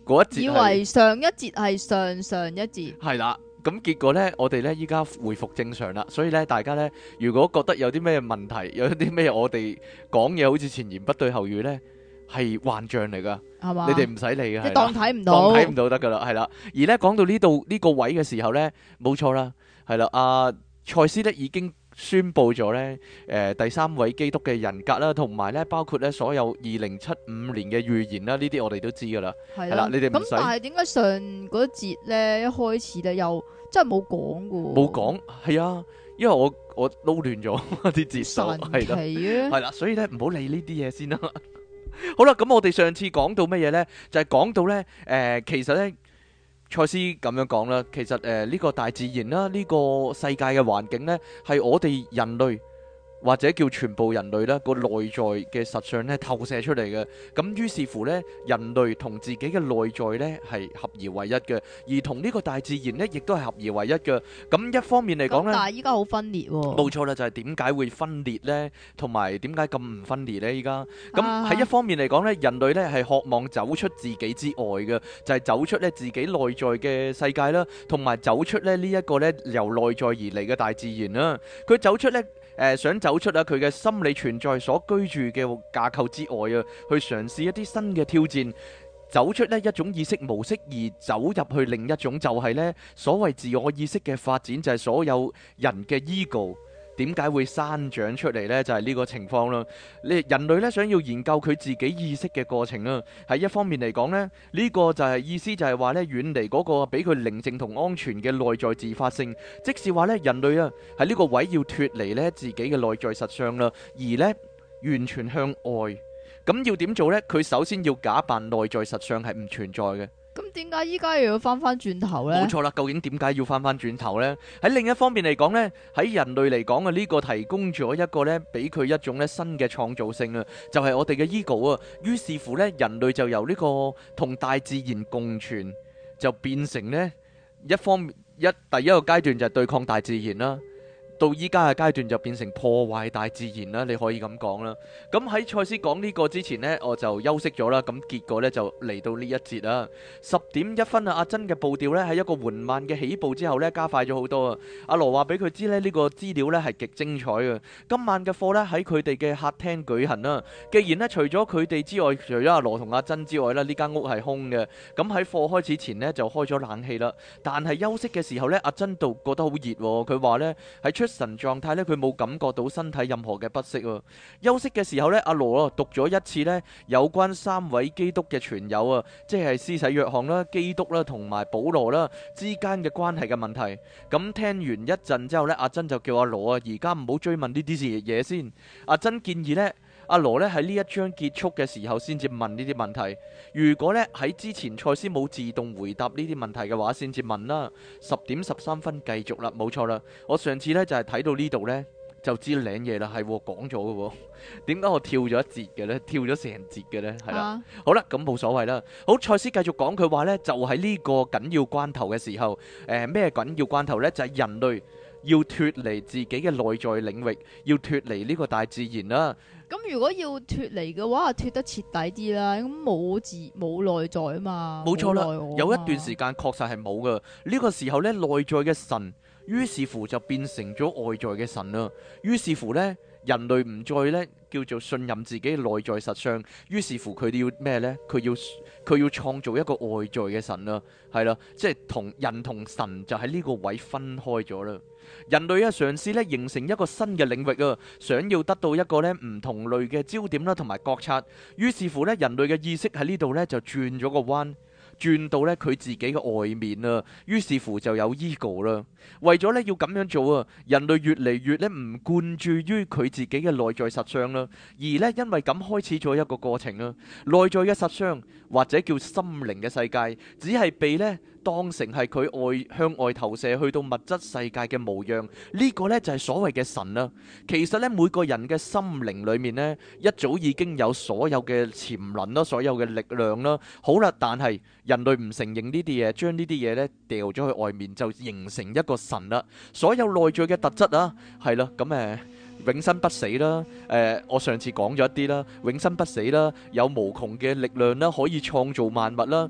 嗰一節以為上一節係上一節， 係啦。咁結果呢，我哋呢依家回復正常啦，所以呢，大家呢，如果覺得有啲咩問題，有啲咩我哋講嘢好似前言不對後語呢，係幻象嚟噶， 係嘛？ 你哋唔使理嘅， 即係當睇唔當到， 睇唔到得噶啦，係啦。而呢講到呢度呢個位嘅時候呢，冇錯啦，係啦，阿賽斯呢已經宣佈咗呢，第三位基督嘅人格啦，同埋呢包括呢所有2075年嘅預言啦，呢啲我哋都知噶啦， 係係啦，你哋唔咁但使係點解上嗰節咧一開始咧又真係冇講噶？ 冇講，係啊，因為我撈亂咗啲節數， 神係啦。 奇啊！ 係啦，所以咧唔好理呢啲嘢先啦。好啦，咁我哋上次講到乜嘢呢？就係講到呢，其實呢，賽斯咁樣講啦，其實呢個大自然啦，呢個世界嘅環境呢，係我哋人類或者叫全部人類啦個內在嘅實相呢透射出嚟嘅。咁於是乎呢，人類同自己嘅內在呢係合而為一嘅，而同呢個大自然呢亦都係合而為一嘅。咁一方面嚟講呢， 但係依家好分裂喎。 冇錯啦，就係點解會分裂呢？同埋點解咁唔分裂呢？依家咁喺一方面嚟講呢，人類呢係渴望走出自己之外嘅，就係走出呢自己內在嘅世界啦，同埋走出呢一個呢由內在而嚟嘅大自然啦。佢走出呢。想走出佢嘅心理存在所居住嘅架構之外啊，去嘗試一啲新嘅挑戰，走出呢一種意識模式，而走入去另一種就係呢所謂自我意識嘅發展，就係所有人嘅 ego。點解會生長出嚟呢？就係呢個情況啦。人類呢想要研究佢自己意識嘅過程啦。喺一方面嚟講呢，呢個就係意思就係話呢，遠離嗰個俾佢寧靜同安全嘅內在自發性，即是話呢，人類啊喺呢個位要脫離呢自己嘅內在實相啦，而呢完全向外。咁要點做呢？佢首先要假扮內在實相係唔存在嘅。 咁點解依家又要翻轉頭呢？ 冇錯啦，究竟點解要翻轉頭呢？喺另一方面嚟講呢，喺人類嚟講啊，呢個提供咗一個呢，俾佢一種呢新嘅創造性啊，就係我哋嘅 ego 啊。於是乎呢，人類就由呢個同大自然共存，就變成呢第一個階段就係對抗大自然啦。到依家嘅階段就變成破壞大自然啦，你可以咁講啦。咁喺賽斯講呢個之前呢，我就休息咗啦。咁結果呢，就嚟到呢一節啦。10:01啊，阿珍嘅步調呢，喺一個緩慢嘅起步之後呢，加快咗好多啊。阿羅話俾佢知呢，呢個資料呢係極精彩嘅。今晚嘅課呢，喺佢哋嘅客廳舉行啦。既然呢，除咗佢哋之外，除咗阿羅同阿珍之外呢，呢間屋係空嘅。咁喺課開始前呢，就開咗冷氣啦。但係休息嘅時候呢，阿珍度覺得好熱喎。佢話呢，喺出神狀態咧，佢冇感覺到身體任何嘅不適啊。休息嘅時候咧，阿羅讀咗一次咧有關三位基督嘅傳友啊，即係施洗約翰啦、基督啦同埋保羅啦之間嘅關係嘅問題。咁聽完一陣之後咧，阿珍就叫阿羅啊，而家唔好追問呢啲嘢先。阿珍建議咧，阿羅咧喺呢一章結束嘅時候先至問呢啲問題。如果咧喺之前賽斯冇自動回答呢啲問題嘅話，先至問啦。10:13繼續啦，冇錯啦。我上次咧就係睇到呢度咧就知領嘢啦，係講咗嘅喎。點解我跳咗一節嘅咧？跳咗成節嘅咧？係啦，好啦，咁冇所謂啦。好，賽斯繼續講，佢話咧就喺呢個緊要關頭嘅時候，咩緊要關頭咧？就係人類要脫離自己嘅內在領域，要脫離呢個大自然啦。 咁如果要脫離嘅話，脫得徹底啲啦。咁冇內在啊嘛。 冇錯啦，有一段時間確實係冇㗎。呢個時候呢，內在嘅神，於是乎就變成咗外在嘅神啦。於是乎呢，人類唔再呢叫做信任自己嘅內在實相。於是乎佢哋要咩呢？佢要創造一個外在嘅神啦。係啦，即係同人同神就喺呢個位分開咗啦。人類啊，嘗試咧形成一個新嘅領域啊，想要得到一個咧唔同類嘅焦點啦，同埋覺察。於是乎咧，人類嘅意識喺呢度咧就轉咗個彎，轉到咧佢自己嘅外面啊。於是乎就有 ego 啦。為咗咧要咁樣做啊，人類越嚟越咧唔灌注於佢自己嘅內在實相啦，而咧因為咁開始咗一個過程啊。內在嘅實相或者叫心靈嘅世界，只係被咧當成係佢向外投射去到物質世界嘅模樣，呢個呢就係所謂嘅神啦。其實呢，每個人嘅心靈裏面呢，一早已經有所有嘅潛能啦，所有嘅力量啦。好啦，但係人類唔承認呢啲嘢，將呢啲嘢呢掉咗去外面，就形成一個神啦。所有內在嘅特質啊，係啦，咁永生不死啦，我上次講咗一啲啦，永生不死啦，有無窮嘅力量啦，可以創造萬物啦。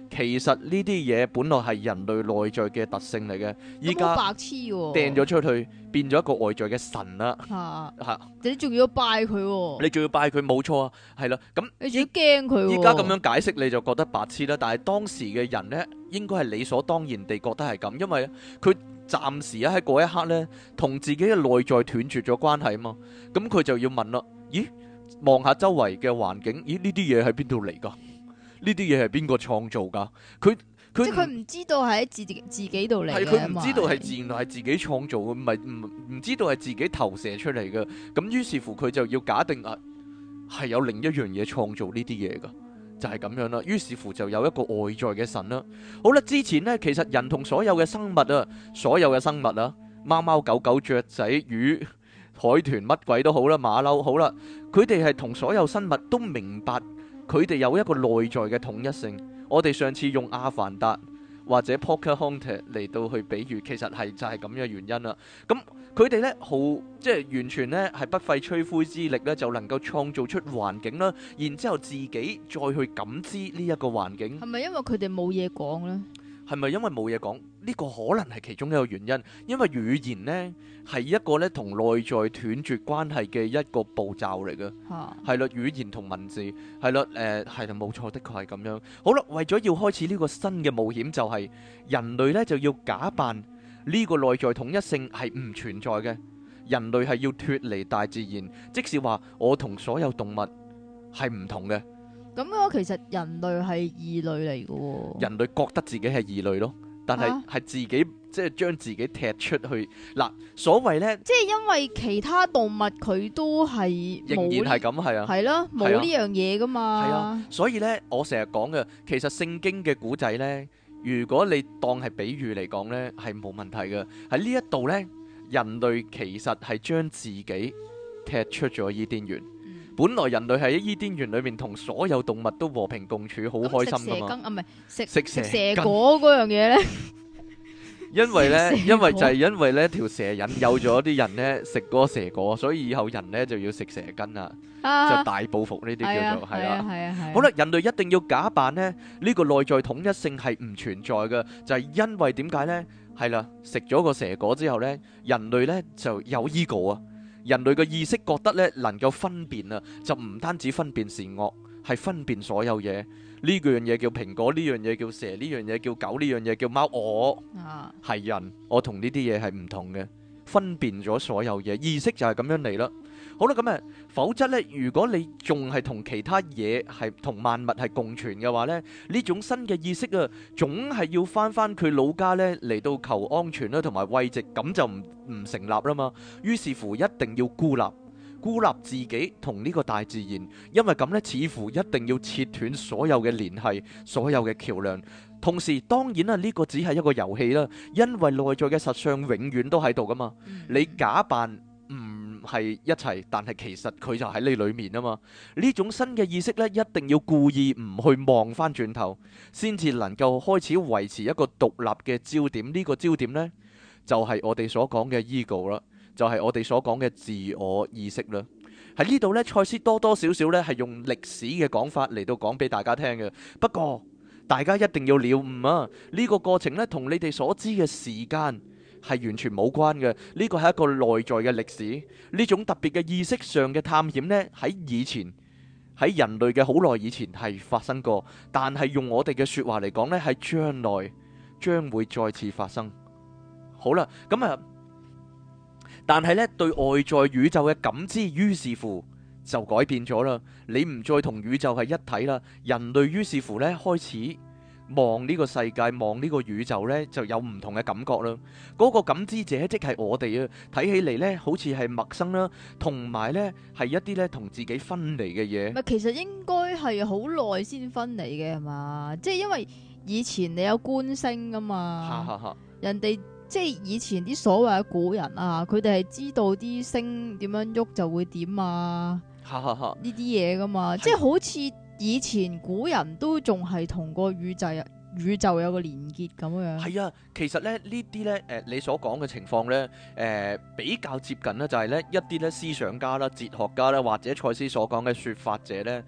其實呢啲嘢本來係人類內在嘅特性嚟嘅，依家咁好白痴喎， 掟咗出去，變咗一個外在嘅神啦。 嚇！你仲要拜佢喎， 你仲要拜佢，冇錯啊，係啦。咁你仲要驚佢喎。 依家咁樣解釋你就覺得白痴啦，但係當時嘅人呢，應該係理所當然地覺得係咁，因為佢暫時喺嗰一刻呢，同自己嘅內在斷絕咗關係啊嘛。咁佢就要問啦，咦？望下周圍嘅環境，咦？呢啲嘢喺邊度嚟㗎？呢啲嘢係邊個創造㗎？即係佢唔知道係喺自己度嚟嘅， 係佢唔知道係自然係自己創造嘅，唔知道係自己投射出嚟嘅。咁於是乎佢就要假定係有另一樣嘢創造呢啲嘢㗎，就係咁樣啦。於是乎就有一個外在嘅神啦。好啦，之前呢，其實人同所有嘅生物啊，所有嘅生物啊，貓貓狗狗、雀仔、魚、海豚乜鬼都好啦，馬騮好啦，佢哋係同所有生物都明白。佢哋有一個內在嘅統一性。我哋上次用阿凡達或者 Pocahontas 嚟到去比喻，其實係就係咁嘅原因啦。咁佢哋呢，即係完全呢係不費吹灰之力呢，就能夠創造出環境啦，然之後自己再去感知呢一個環境。 係咪因為佢哋冇嘢講呢？ 係咪因為冇嘢講？呢個可能係其中一個原因，因為語言呢係一個呢同內在斷絕關係嘅一個步驟嚟嘅。係啦，語言同文字係啦，係啦，冇錯，的確係咁樣。好啦，為咗要開始呢個新嘅冒險，就係人類呢就要假扮呢個內在統一性係唔存在嘅。人類係要脫離大自然，即是話我同所有動物係唔同嘅。 咁嘅話，其實人類係異類嚟嘅喎。 人類覺得自己係異類咯，但係自己即係將自己踢出去嗱。所謂呢，即係因為其他動物佢都係仍然係咁，係啊， 係咯，冇呢樣嘢噶嘛。 係啊，所以呢，我成日講嘅，其實聖經嘅古仔呢，如果你當係比喻嚟講呢，係冇問題嘅。喺呢一度呢，人類其實係將自己踢出咗伊甸園。本來人類喺伊甸園裏面同所有動物都和平共處，好開心噶嘛。唔係食蛇果嗰樣嘢呢？因為呢條蛇引誘咗啲人呢食嗰個蛇果，所以以後人呢就要食蛇羹啦，就大報復呢啲叫做係啦。好啦，人類一定要假扮呢個內在統一性係唔存在嘅，就係因為點解呢？係啦，食咗個蛇果之後呢，人類呢就有 ego 啊。人類嘅意識覺得咧能夠分辨啊，就唔單止分辨善惡，係分辨所有嘢。呢樣嘢叫蘋果，呢樣嘢叫蛇，呢樣嘢叫狗，呢樣嘢叫貓。我係人，我同呢啲嘢係唔同嘅，分辨咗所有嘢，意識就係咁樣嚟啦。好啦，咁否則呢，如果你仲係同其他嘢係同萬物係共存嘅話呢，呢種新嘅意識啊，總係要翻佢老家呢嚟到求安全啦，同埋慰藉，咁就唔成立啦嘛。於是乎，一定要孤立自己同呢個大自然，因為咁呢，似乎一定要切斷所有嘅聯繫，所有嘅橋梁。同時，當然啦，呢個只係一個遊戲啦，因為內在嘅實相永遠都喺度噶嘛。你假扮唔係一齊，但係其實佢就喺你裏面啊嘛。呢種新嘅意識呢，一定要故意唔去望翻轉頭，先至能夠開始維持一個獨立嘅焦點。呢個焦點呢，就係我哋所講嘅 ego 啦，就係我哋所講嘅自我意識啦。喺呢度呢，賽斯多多少少呢係用歷史嘅講法嚟到講俾大家聽嘅。不過大家一定要了悟啊，呢個過程呢，同你哋所知嘅時間係完全冇關嘅。呢個係一個內在嘅歷史，呢種特別嘅意識上嘅探險呢，喺以前，喺人類嘅好耐以前係發生過，但係用我哋嘅說話嚟講呢，係將來將會再次發生。好啦，咁但係呢，對外在宇宙嘅感知，於是乎就改變咗啦。你唔再同宇宙係一體啦，人類於是乎呢，開始望呢個世界，望呢個宇宙呢，就有唔同嘅感覺啦。嗰個感知者即係我哋啊，睇起嚟呢，好似係陌生啦，同埋呢係一啲呢同自己分離嘅嘢。 其實應該係好耐先分離嘅係嘛？即係因為以前你有觀星噶嘛，人哋即係以前啲所謂嘅古人啊，佢哋係知道啲星點樣喐就會點啊，呢啲嘢噶嘛，即係好似以前古人都仲係同個宇宙有個連結咁樣。 係啊，其實咧呢啲咧你所講嘅情況咧比較接近咧，就係咧一啲咧思想家啦、哲學家啦，或者賽斯所講嘅說法者咧，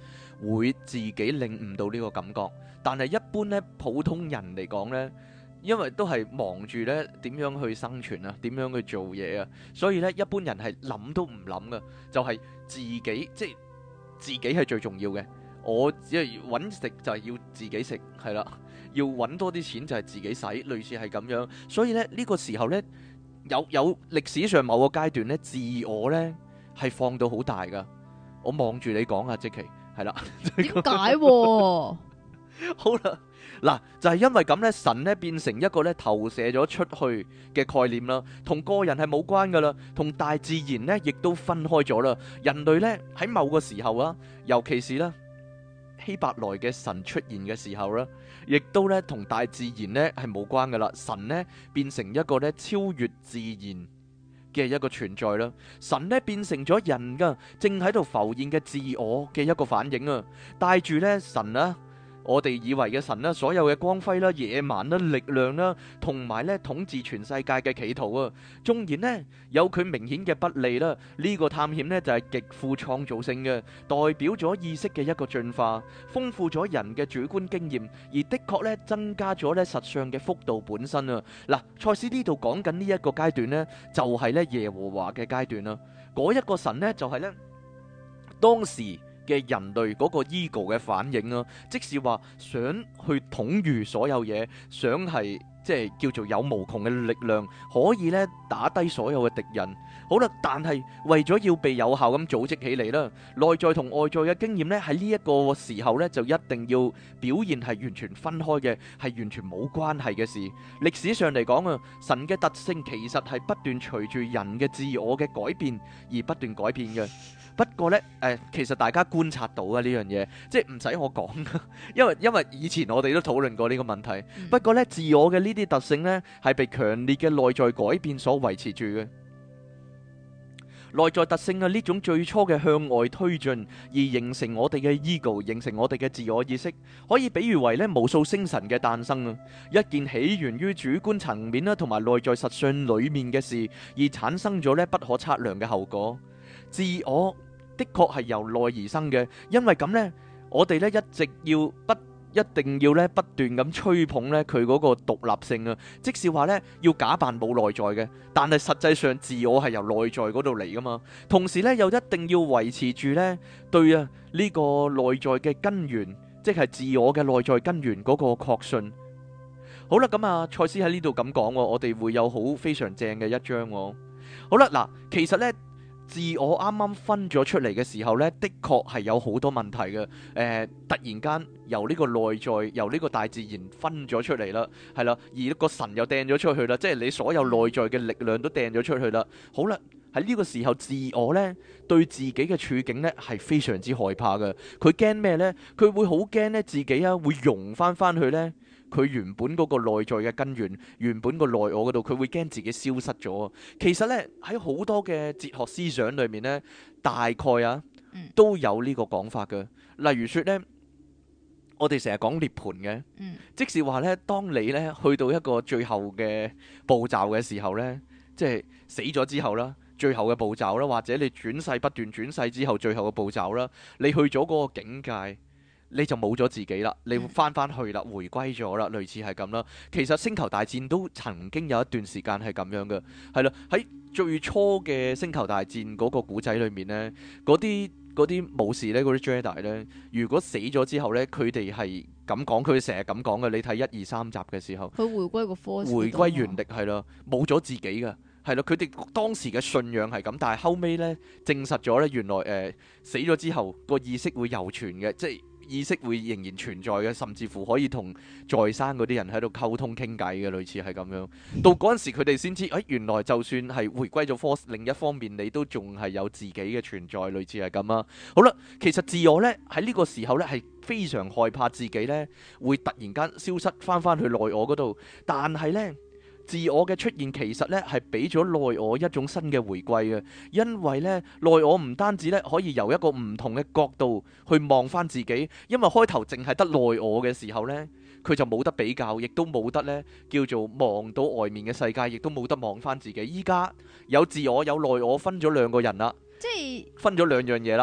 會自己領悟到呢個感覺。但係一般咧普通人嚟講咧，因為都係忙住咧點樣去生存啊，點樣去做嘢啊，所以咧一般人係諗都唔諗噶，就係自己，即係自己係最重要嘅。我只係揾食就係要自己食，係啦，要揾多啲錢就係自己使，類似係咁樣。所以咧呢個時候咧有歷史上某個階段咧，自我咧係放到好大噶。我望住你講啊，即其係啦， 點解？ 好啦，嗱就係因為咁咧，神咧變成一個咧投射咗出去嘅概念啦，同個人係冇關噶啦，同大自然咧亦都分開咗啦。人類咧喺某個時候啊，尤其是咧希伯來嘅神出現嘅時候啦，亦都咧同大自然咧係冇關噶啦。神咧變成一個咧超越自然嘅一個存在啦，神咧變成咗人噶，正喺度浮現嘅自我嘅一個反應啊，帶住咧神啊。我哋以為嘅神啦，所有嘅光輝啦、野蠻啦、力量啦，同埋咧統治全世界嘅企圖啊，縱然呢有佢明顯嘅不利啦，呢個探險呢就係極富創造性嘅，代表咗意識嘅一個進化，豐富咗人嘅主觀經驗，而的確咧增加咗咧實相嘅幅度本身啊。嗱，賽斯呢度講緊呢一個階段呢，就係咧耶和華嘅階段啦。嗰一個神呢，就係咧當時嘅人類嗰個 ego 嘅反應啊，即是話想去統御所有嘢，想係即係叫做有無窮嘅力量，可以咧打低所有嘅敵人。好啦，但係為咗要被有效咁組織起嚟啦，內在同外在嘅經驗咧喺呢一個時候咧就一定要表現係完全分開嘅，係完全冇關係嘅事。歷史上嚟講啊，神嘅特性其實係不斷隨住人嘅自我嘅改變而不斷改變嘅。不過呢，其實大家觀察到啊呢樣嘢，即係唔使我講，因為以前我哋都討論過呢個問題。不過呢，自我嘅呢啲特性呢，係被強烈嘅內在改變所維持住嘅。內在特性啊，呢種最初嘅向外推進，而形成我哋嘅 ego， 形成我哋嘅自我意識，可以比喻為呢無數星辰嘅誕生啊，一件起源於主觀層面啦，同埋內在實相裏面嘅事，而產生咗呢不可測量嘅後果。自我的確係由內而生嘅，因為咁呢，我哋呢一定要呢不斷咁吹捧呢佢嗰個獨立性啊，即是話呢要假扮冇內在嘅，但係實際上自我係由內在嗰度嚟噶嘛，同時呢又一定要維持住呢對啊呢個內在嘅根源，即係自我嘅內在根源嗰個確信。好啦，咁啊，賽斯喺呢度咁講，我哋會有好非常正嘅一章。好啦，嗱，其實呢。自我啱啱分咗出嚟嘅時候呢，的確係有好多問題嘅。突然間由呢個內在，由呢個大自然分咗出嚟啦，係啦，而個神又掟咗出去啦，即係你所有內在嘅力量都掟咗出去啦。好啦，喺呢個時候，自我呢對自己嘅處境呢係非常之害怕嘅。佢驚咩呢？佢會好驚呢自己啊會融翻去呢。佢原本嗰個內在嘅根源，原本個內我嗰度，佢會驚自己消失咗。其實呢，喺好多嘅哲學思想裏面呢，大概啊都有呢個講法嘅。例如說呢，我哋成日講涅槃嘅，即是話呢，當你呢去到一個最後嘅步驟嘅時候呢，即係死咗之後啦，最後嘅步驟啦，或者你轉世不斷轉世之後最後嘅步驟啦，你去咗嗰個境界。你就冇咗自己啦，你翻去啦，回歸咗啦，類似係咁啦。其實星球大戰都曾經有一段時間係咁樣嘅，係啦。喺最初嘅星球大戰嗰個古仔裏面呢，嗰啲武士呢，嗰啲 Jedi 呢，如果死咗之後呢，佢哋係咁講，佢成日咁講嘅。你睇1、2、3集嘅時候，佢回歸個 force， 回歸原力係啦，冇咗自己嘅。係咯，佢哋當時嘅信仰係咁，但係後尾呢，證實咗呢，原來死咗之後個意識會猶存嘅，即係意識會仍然存在嘅，甚至乎可以同在生嗰啲人喺度溝通傾偈嘅，類似係咁樣。到嗰陣時佢哋先知，原來就算係回歸咗 force，另一方面你都仲係有自己嘅存在，類似係咁啊。好啦，其實自我呢，喺呢個時候呢，係非常害怕自己呢會突然間消失翻去內我嗰度，但係呢。自我嘅出現其實咧係俾咗內我一種新嘅回歸嘅，因為咧內我唔單止咧可以由一個唔同嘅角度去望翻自己，因為開頭淨係得內我嘅時候咧，佢就冇得比較，亦都冇得咧叫做望到外面嘅世界，亦都冇得望翻自己。依家有自我有內我分咗兩個人啦， 即係分咗兩樣嘢啦。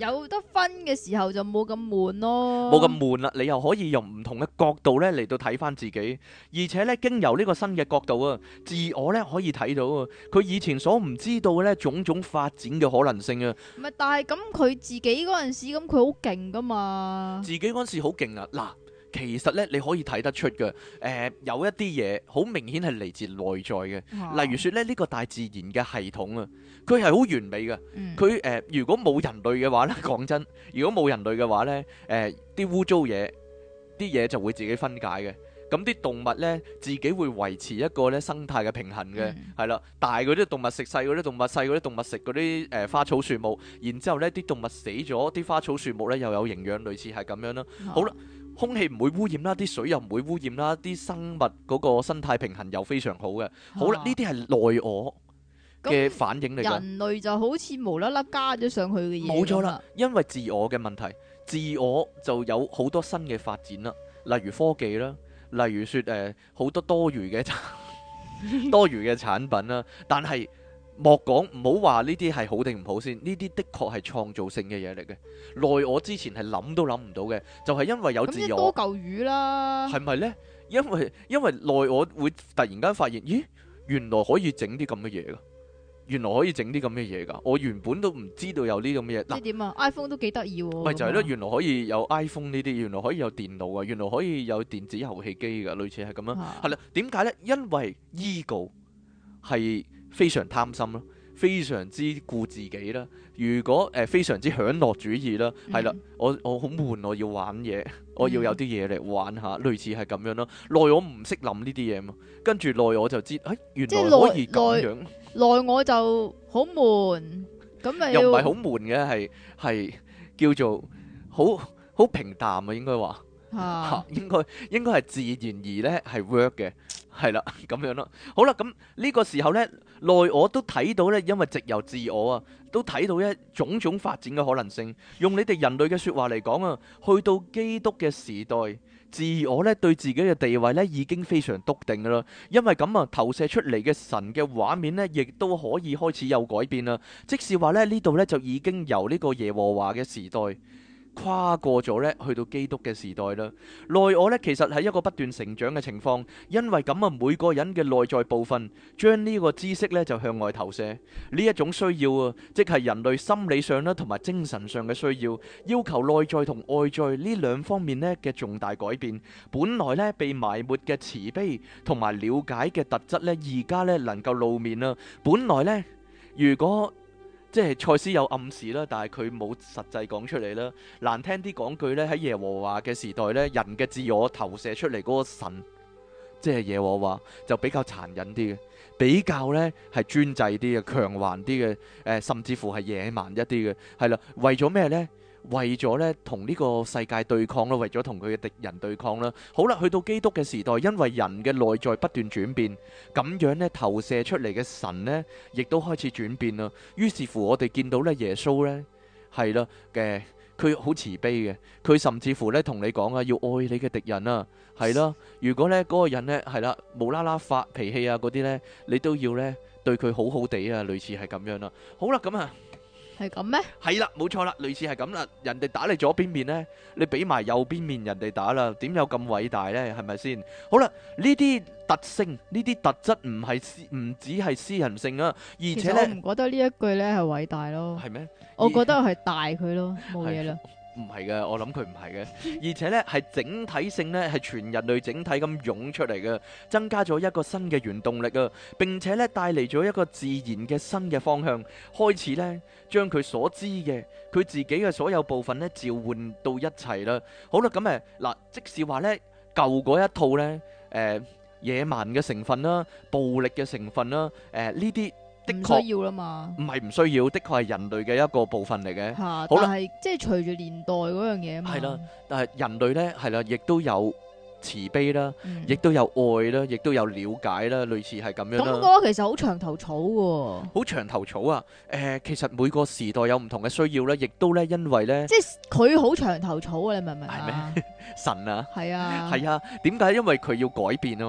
有得分嘅時候就冇咁悶咯， 冇咁悶啦。你又可以用唔同嘅角度咧嚟到睇翻自己，而且咧經由呢個新嘅角度啊，自我咧可以睇到啊，佢以前所唔知道嘅咧種種發展嘅可能性啊。 唔係，但係咁佢自己嗰陣時咁佢好勁噶嘛， 自己嗰陣時好勁啊！嗱，其實咧你可以睇得出嘅，有一啲嘢好明顯係嚟自內在嘅，例如說咧呢個大自然嘅系統啊，佢係好完美嘅。佢如果冇人類嘅話咧，講真，如果冇人類嘅話咧，啲污糟嘢，啲嘢就會自己分解嘅。咁啲動物呢，自己會維持一個咧生態嘅平衡嘅，係啦。大嗰啲動物食細嗰啲動物，細嗰啲動物食嗰啲花草樹木，然之後呢啲動物死咗，啲花草樹木呢又有營養，類似係咁樣啦。好啦，空氣唔會污染啦，啲水又唔會污染啦，啲生物嗰個生態平衡又非常好嘅。好啦，呢啲係內我嘅反應嚟嘅。 人類就好似無啦啦加咗上去嘅嘢。 冇錯啦，因為自我嘅問題，自我就有好多新嘅發展啦，例如科技啦。例如說好多多餘嘅產品啦，但係莫講唔好話呢啲係好定唔好先，呢啲的確係創造性嘅嘢嚟嘅。內我之前係諗都諗唔到嘅，就係因為有自我。咁多嚿魚啦，係咪呢？因為內我會突然間發現，咦，原來可以整啲咁嘅嘢噶。原來可以整啲咁嘅嘢㗎，我原本都唔知道有啲咁嘅嘢。 即係點啊 ？iPhone 都幾得意喎。 咪就係咯，原來可以有 iPhone 呢啲，原來可以有電腦啊，原來可以有電子遊戲機㗎，類似係咁樣。係啦，點解呢？因為 ego 係非常貪心咯，非常之顧自己啦。如果非常之享樂主義啦，係啦，我好悶，我要玩嘢，我要有啲嘢嚟玩下，類似係咁樣咯。內我唔識諗呢啲嘢嘛，跟住內我就知，原來可以咁樣。 內我就好悶，咁咪又唔係好悶嘅，係叫做好平淡啊，應該話應該係自然而咧係 work 嘅，係啦咁樣咯。好啦，咁呢個時候咧，內我都睇到咧，因為藉由自我啊，都睇到一種種發展嘅可能性。用你哋人類嘅說話嚟講啊，去到基督嘅時代。自我咧對自己嘅地位咧已經非常篤定噶啦，因為咁啊投射出嚟嘅神嘅畫面咧，亦都可以開始有改變啦。即是話咧呢度咧就已經由呢個耶和華嘅時代跨過咗咧，去到基督嘅時代啦。內我咧其實係一個不斷成長嘅情況，因為咁啊每個人嘅內在部分將呢個知識咧就向外投射，呢一種需要啊，即係人類心理上啦同埋精神上嘅需要，要求內在同外在呢兩方面咧嘅重大改變。本來咧被埋沒嘅慈悲同埋了解嘅特質咧，而家咧能夠露面啦。本來咧如果即係賽斯有暗示啦，但係佢冇實際講出嚟啦。難聽啲講句呢，喺耶和華嘅時代呢，人嘅自我投射出嚟嗰個神，即係耶和華就比較殘忍啲嘅，比較呢係專制啲嘅，強橫啲嘅，甚至乎係野蠻一啲嘅，係啦。為咗咩呢？為咗咧同呢個世界對抗咯，為咗同佢嘅敵人對抗啦。好啦，去到基督嘅時代，因為人嘅內在不斷轉變，咁樣咧投射出嚟嘅神呢，亦都開始轉變啦。於是乎，我哋見到咧耶穌呢，係啦嘅，佢好慈悲嘅，佢甚至乎咧同你講啊，要愛你嘅敵人啊，係啦。如果咧嗰個人呢，係啦無啦啦發脾氣啊嗰啲呢，你都要咧對佢好好地啊，類似係咁樣啦。好啦，咁啊。 係咁咩？係啦，冇錯啦，類似係咁啦。人哋打你左邊面呢，你俾埋右邊面人哋打啦，點有咁偉大呢？係咪先？好啦，呢啲特性，呢啲特質唔只係私人性啊，而且呢， 我唔覺得呢一句呢係偉大咯。 係咩？ 我覺得係大佢咯，冇嘢啦。 唔係嘅，我諗佢唔係嘅，而且呢係整體性呢係全人類整體咁湧出嚟嘅，增加咗一個新嘅原動力啊，並且呢帶嚟咗一個自然嘅新嘅方向，開始呢將佢所知嘅佢自己嘅所有部分呢召喚到一齊啦。好啦，咁嗱，即使話呢舊嗰一套呢野蠻嘅成分啦、暴力嘅成分啦，呢啲。的確需要啦嘛， 唔係唔需要，的確係人類嘅一個部分嚟嘅。 好啦，但係即係隨住年代嗰樣嘢啊嘛。係啦， 但係人類呢，係啦，亦都有慈悲啦，亦都有愛啦，亦都有了解啦，類似係咁樣啦。 咁嗰個其實好長頭草喎。好長頭草啊！其實每個時代有唔同嘅需要咧，亦都咧因為咧， 即係佢好長頭草啊！你明唔明啊？ 係咩？神啊， 係啊， 係啊。點解？因為佢要改變啊嘛。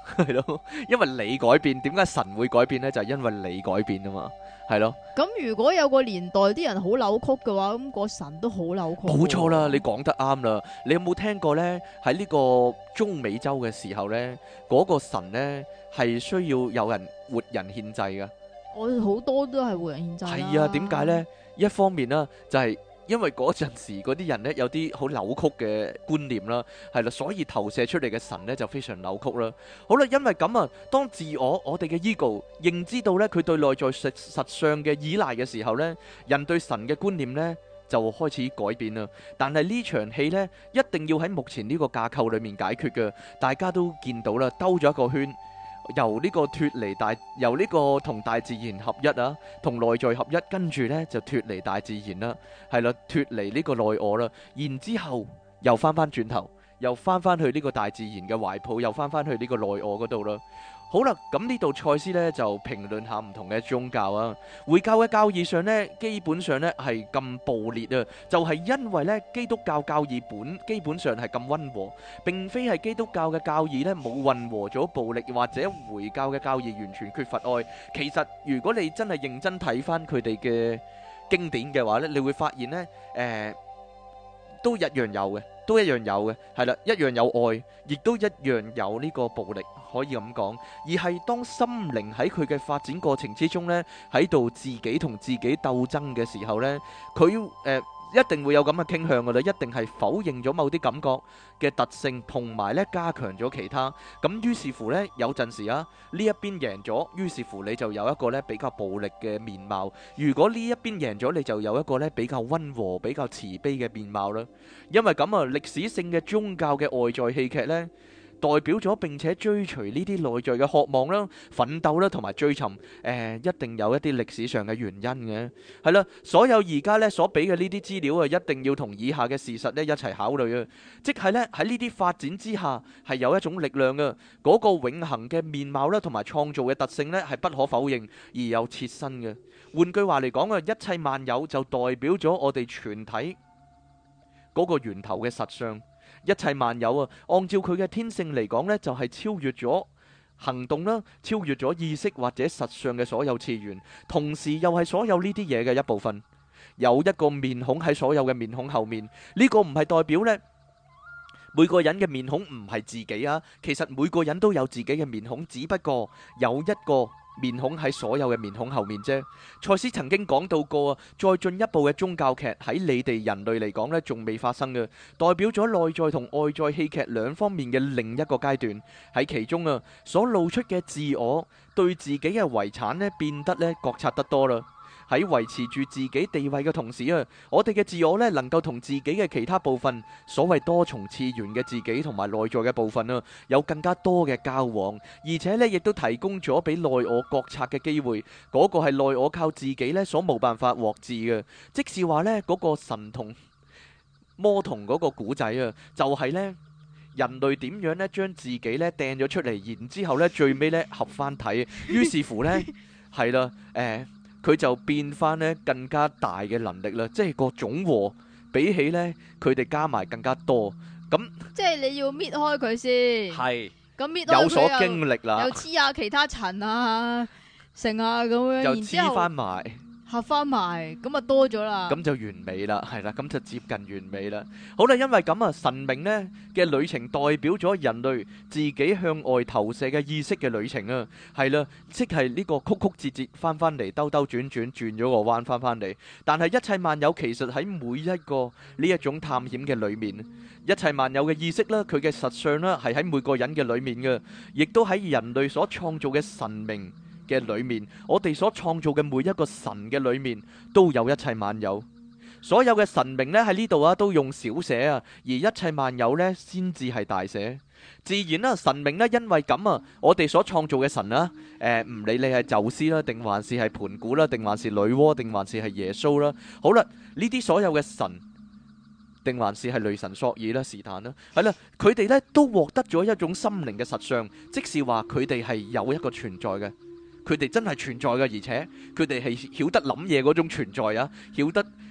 係咯，因為你改變，點解神會改變呢？就係因為你改變啊嘛，係咯。 咁如果有個年代啲人好扭曲嘅話，咁個神都好扭曲。 冇錯啦，你講得啱啦。你有冇聽過呢？喺呢個中美洲嘅時候呢，嗰個神呢係需要有人活人獻祭噶。 我好多都係活人獻祭啦。 係啊，點解呢？一方面啦，就係因為嗰陣時嗰啲人呢有啲好扭曲嘅觀念啦，係啦，所以投射出嚟嘅神呢就非常扭曲啦。好啦，因為咁啊，當我哋嘅 ego 認知到呢佢對內在實相嘅依賴嘅時候呢，人對神嘅觀念呢就開始改變啦。但係呢場戲呢，一定要喺目前呢個架構裏面解決嘅，大家都見到啦，兜咗一個圈。由呢個脫離由呢個同大自然合一啊，同內在合一，跟住呢就脫離大自然啦，係啦，脫離呢個內我啦，然之後又翻轉頭，又翻去呢個大自然嘅懷抱，又翻去呢個內我嗰度啦。好啦，咁呢度賽斯呢就評論下唔同嘅宗教啊。回教嘅教義上呢，基本上呢係咁暴烈啊，就係因為呢基督教教義基本上係咁溫和，並非係基督教嘅教義呢冇混合咗暴力，或者回教嘅教義完全缺乏愛。其實如果你真係認真睇翻佢哋嘅經典嘅話呢，你會發現呢，都一樣有嘅，係啦，一樣有愛，亦都一樣有呢個暴力，可以咁講。而係當心靈喺佢嘅發展過程之中呢，喺度自己同自己鬥爭嘅時候呢，佢一定會有咁嘅傾向噶啦，一定係否認咗某啲感覺嘅特性，同埋咧加強咗其他。咁於是乎呢，有陣時啊，呢一邊贏咗，於是乎你就有一個咧比較暴力嘅面貌；如果呢一邊贏咗，你就有一個咧比較溫和、比較慈悲嘅面貌啦。因為咁啊，歷史性嘅宗教嘅外在戲劇呢，代表咗並且追隨呢啲內在嘅渴望啦、奮鬥啦同埋追尋，一定有一啲歷史上嘅原因嘅，係啦。所有而家呢所俾嘅呢啲資料啊，一定要同以下嘅事實呢一齊考慮啊，即係呢喺呢啲發展之下係有一種力量嘅，嗰個永恆嘅面貌啦同埋創造嘅特性呢係不可否認而有切身嘅。換句話嚟講啊，一切萬有就代表咗我哋全體嗰個源頭嘅實相。一切萬有啊，按照佢嘅天性嚟講呢，就係超越咗行動啦，超越咗意識或者實相嘅所有次元，同時又係所有呢啲嘢嘅一部分。有一個面孔喺所有嘅面孔後面，呢個唔係代表呢每個人嘅面孔唔係自己啊，其實每個人都有自己嘅面孔，只不過有一個面孔喺所有嘅面孔後面啫。賽斯曾經講到過啊，再進一步嘅宗教劇喺你哋人類嚟講呢，仲未發生嘅，代表咗內在同外在戲劇兩方面嘅另一個階段。喺其中啊，所露出嘅自我對自己嘅遺產呢，變得呢覺察得多啦。喺維持住自己地位嘅同時啊，我哋嘅自我呢，能夠同自己嘅其他部分，所謂多重次元嘅自己同埋內在嘅部分啊，有更加多嘅交往，而且呢，亦都提供咗俾內我覺察嘅機會。嗰個係內我靠自己呢所冇辦法獲致嘅。即是話呢，嗰個神同魔童嗰個古仔啊，就係呢人類點樣呢將自己呢掟咗出嚟，然之後呢最尾呢合翻體，於是乎呢係啦，佢就變翻呢更加大嘅能力啦，即係個總和比起呢佢哋加埋更加多。咁即係你要搣開佢先， 係咁搣開佢有所經歷啦， 又黐下其他塵啊、成啊咁樣， 又黐翻埋。 合翻埋，咁啊多咗啦， 咁就完美啦，係啦，咁就接近完美啦。好啦，因為咁啊，神明呢嘅旅程代表咗人類自己向外投射嘅意識嘅旅程啊，係啦，即係呢個曲曲折折翻嚟，兜兜轉轉轉咗個彎翻嚟。但係一切萬有其實喺每一個呢一種探險嘅裏面，一切萬有嘅意識啦，佢嘅實相啦，係喺每個人嘅裏面嘅，亦都喺人類所創造嘅神明嘅裏面，我哋所創造嘅每一個神嘅裏面都有一切萬有。所有嘅神明呢喺呢度啊都用小寫啊，而一切萬有呢先至係大寫。自然啦，神明呢因為咁啊，我哋所創造嘅神啊，唔理你係宙斯啦，定還是係盤古啦，定還是女媧，定還是係耶穌啦，好啦，呢啲所有嘅神，定還是係雷神索爾啦、是但啦，係啦，佢哋呢都獲得咗一種心靈嘅實相，即是話佢哋係有一個存在嘅。佢哋真係存在嘅，而且佢哋係曉得諗嘢嗰種存在啊，曉得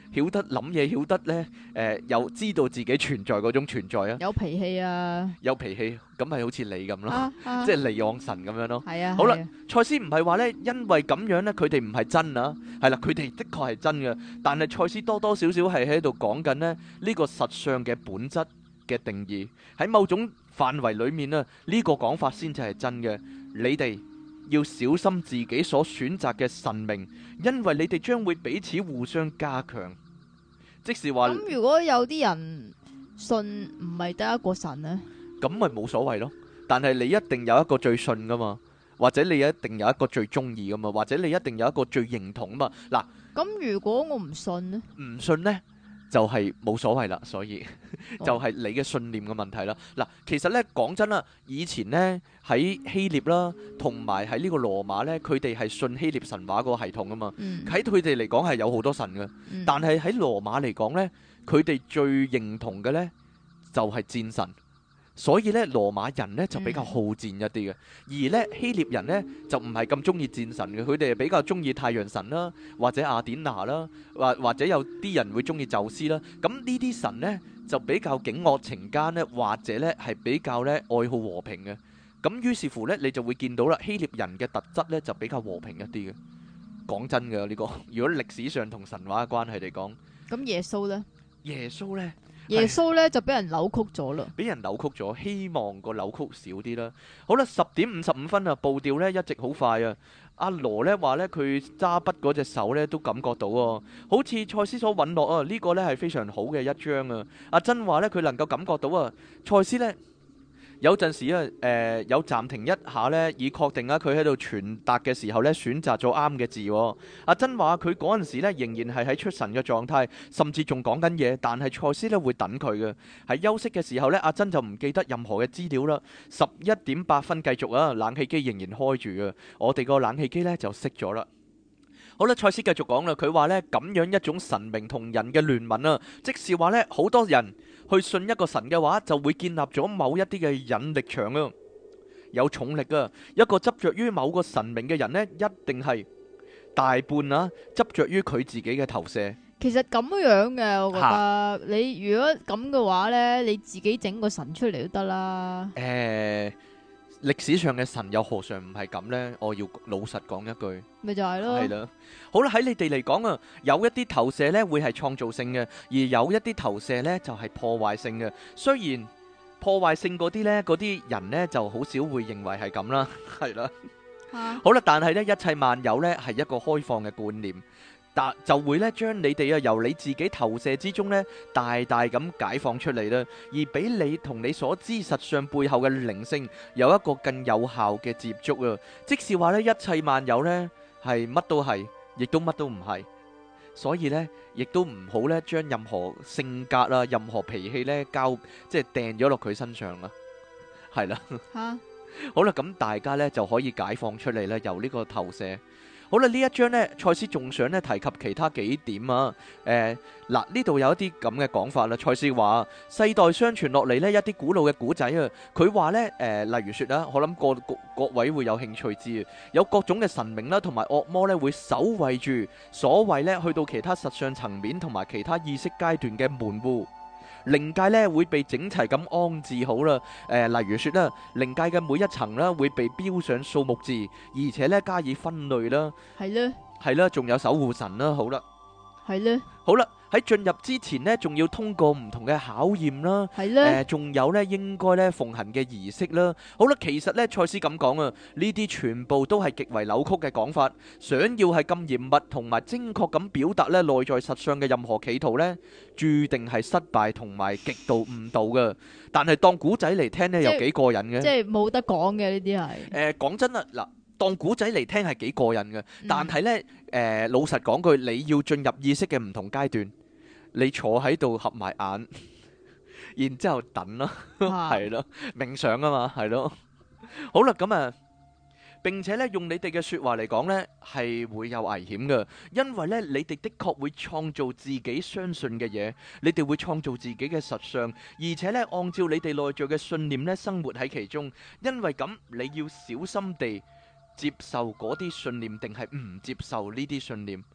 曉得諗嘢，曉得咧又知道自己存在嗰種存在啊， 有脾氣啊， 有脾氣，咁咪好似你咁咯，即係離岸神咁樣咯。 係啊， 好啦，賽斯唔係話咧，因為咁樣咧，佢哋唔係真啊，係啦，佢哋的確係真嘅，但係賽斯多多少少係喺度講緊咧呢個實相嘅本質嘅定義，喺某種範圍裡面啊，呢個講法先至係真嘅。你哋要小心自己所選擇嘅神明，因為你哋將會彼此互相加強。即是話， 咁如果有啲人信唔係得一個神呢， 咁咪冇所謂咯。但係你一定有一個最信噶嘛，或者你一定有一個最中意噶嘛，或者你一定有一個最認同嘛。嗱， 咁如果我唔信呢？ 唔信呢？就係冇所謂啦，所以就係你嘅信念嘅問題啦。嗱，其實咧講真啦，以前咧喺希臘啦，同埋喺呢個羅馬咧，佢哋係信希臘神話嗰個系統啊嘛。喺佢哋嚟講係有好多神嘅，但係喺羅馬嚟講咧，佢哋最認同嘅咧就係戰神。所以咧，羅馬人咧就比較好戰一啲嘅，而咧希臘人咧就唔係咁中意戰神嘅，佢哋係比較中意太陽神啦，或者雅典娜啦，或者有啲人會中意宙斯啦。咁呢啲神咧就比較警惡懲奸咧，或者咧係比較咧愛好和平嘅。咁於是乎咧，你就會見到啦，希臘人嘅特質咧就比較和平一啲嘅。講真嘅呢個，如果歷史上同神話嘅關係嚟講， 咁耶穌咧？ 耶穌咧？ 耶穌咧就俾人扭曲咗啦， 俾人扭曲咗，希望個扭曲少啲啦。好啦，10:55啊，步調咧一直好快啊。阿羅咧話咧佢揸筆嗰隻手咧都感覺到喎，好似賽斯所允諾啊，呢個咧係非常好嘅一章啊。阿珍話咧佢能夠感覺到啊，賽斯咧有陣時啊有暫停一下咧，以確定啊佢喺度傳達嘅時候咧選擇咗啱嘅字。阿珍話佢嗰陣時咧仍然係喺出神嘅狀態，甚至仲講緊嘢，但係賽斯咧會等佢嘅。喺休息嘅時候咧，阿珍就唔記得任何嘅資料啦。11:08繼續啊，冷氣機仍然開住啊，我哋個冷氣機咧就熄咗啦。好啦，賽斯繼續講啦，佢話咧咁樣一種神明同人嘅聯盟啊，即是話咧好多人去信一個神嘅話，就會建立咗某一啲嘅引力場啊，有重力啊。一個執着於某個神明嘅人呢，一定係大半啊執着於佢自己嘅投射。 其實咁樣嘅，我覺得你如果咁嘅話呢，你自己整個神出嚟都得啦。 歷史上嘅神又何嘗唔係咁呢？我要老實講一句， 咪就係咯。 係啦，好啦，喺你哋嚟講啊，有一啲投射呢會係創造性嘅，而有一啲投射呢就係破壞性嘅。雖然破壞性嗰啲呢，嗰啲人呢就好少會認為係咁啦，係啦。好啦，但係呢，一切萬有呢係一個開放嘅觀念。就會咧將你哋啊由你自己投射之中咧大大咁解放出嚟啦，而俾你同你所知實相背後嘅靈性有一個更有效嘅接觸啊！即是話咧一切萬有咧係乜都係，亦都乜都唔係，所以咧亦都唔好咧將任何性格啊、任何脾氣咧即係掟咗落佢身上啊，係啦。好啦，咁大家咧就可以解放出嚟啦，由呢個投射。好啦，呢一章呢，賽斯仲想咧提及其他幾點啊。嗱，呢度有一啲咁嘅講法啦。賽斯話世代相傳落嚟呢，一啲古老嘅古仔啊，佢話呢，例如說啦，我諗各位會有興趣知啊，有各種嘅神明啦，同埋惡魔呢，會守衛住所謂呢，去到其他實相層面同埋其他意識階段嘅門戶。靈界咧會被整齊咁安置好啦，例如說啦，靈界嘅每一層啦會被標上數目字，而且咧加以分類啦， 係咧， 係啦，仲有守護神啦，好啦， 係咧， 好啦，喺進入之前呢，仲要通過唔同嘅考驗啦， 係咧， 仲有咧應該咧奉行嘅儀式啦，好啦，其實咧賽斯咁講啊，呢啲全部都係極為扭曲嘅講法，想要係咁嚴密同埋精確咁表達咧內在實相嘅任何企圖咧，注定係失敗同埋極度誤導嘅。但係當古仔嚟聽咧，又幾過癮嘅，即係冇得講嘅呢啲係。 講真啦，嗱。當古仔嚟聽係幾過癮嘅，但係呢，老實講句，你要進入意識嘅唔同階段，你坐喺度合埋眼，然之後等咯，係咯，冥想啊嘛，係咯。好啦，咁啊，並且呢，用你哋嘅說話嚟講呢，係會有危險嘅，因為呢，你哋的確會創造自己相信嘅嘢，你哋會創造自己嘅實相，而且呢，按照你哋內在嘅信念呢，生活喺其中。因為咁，你要小心地接受嗰啲信念，定係唔接受呢啲信念？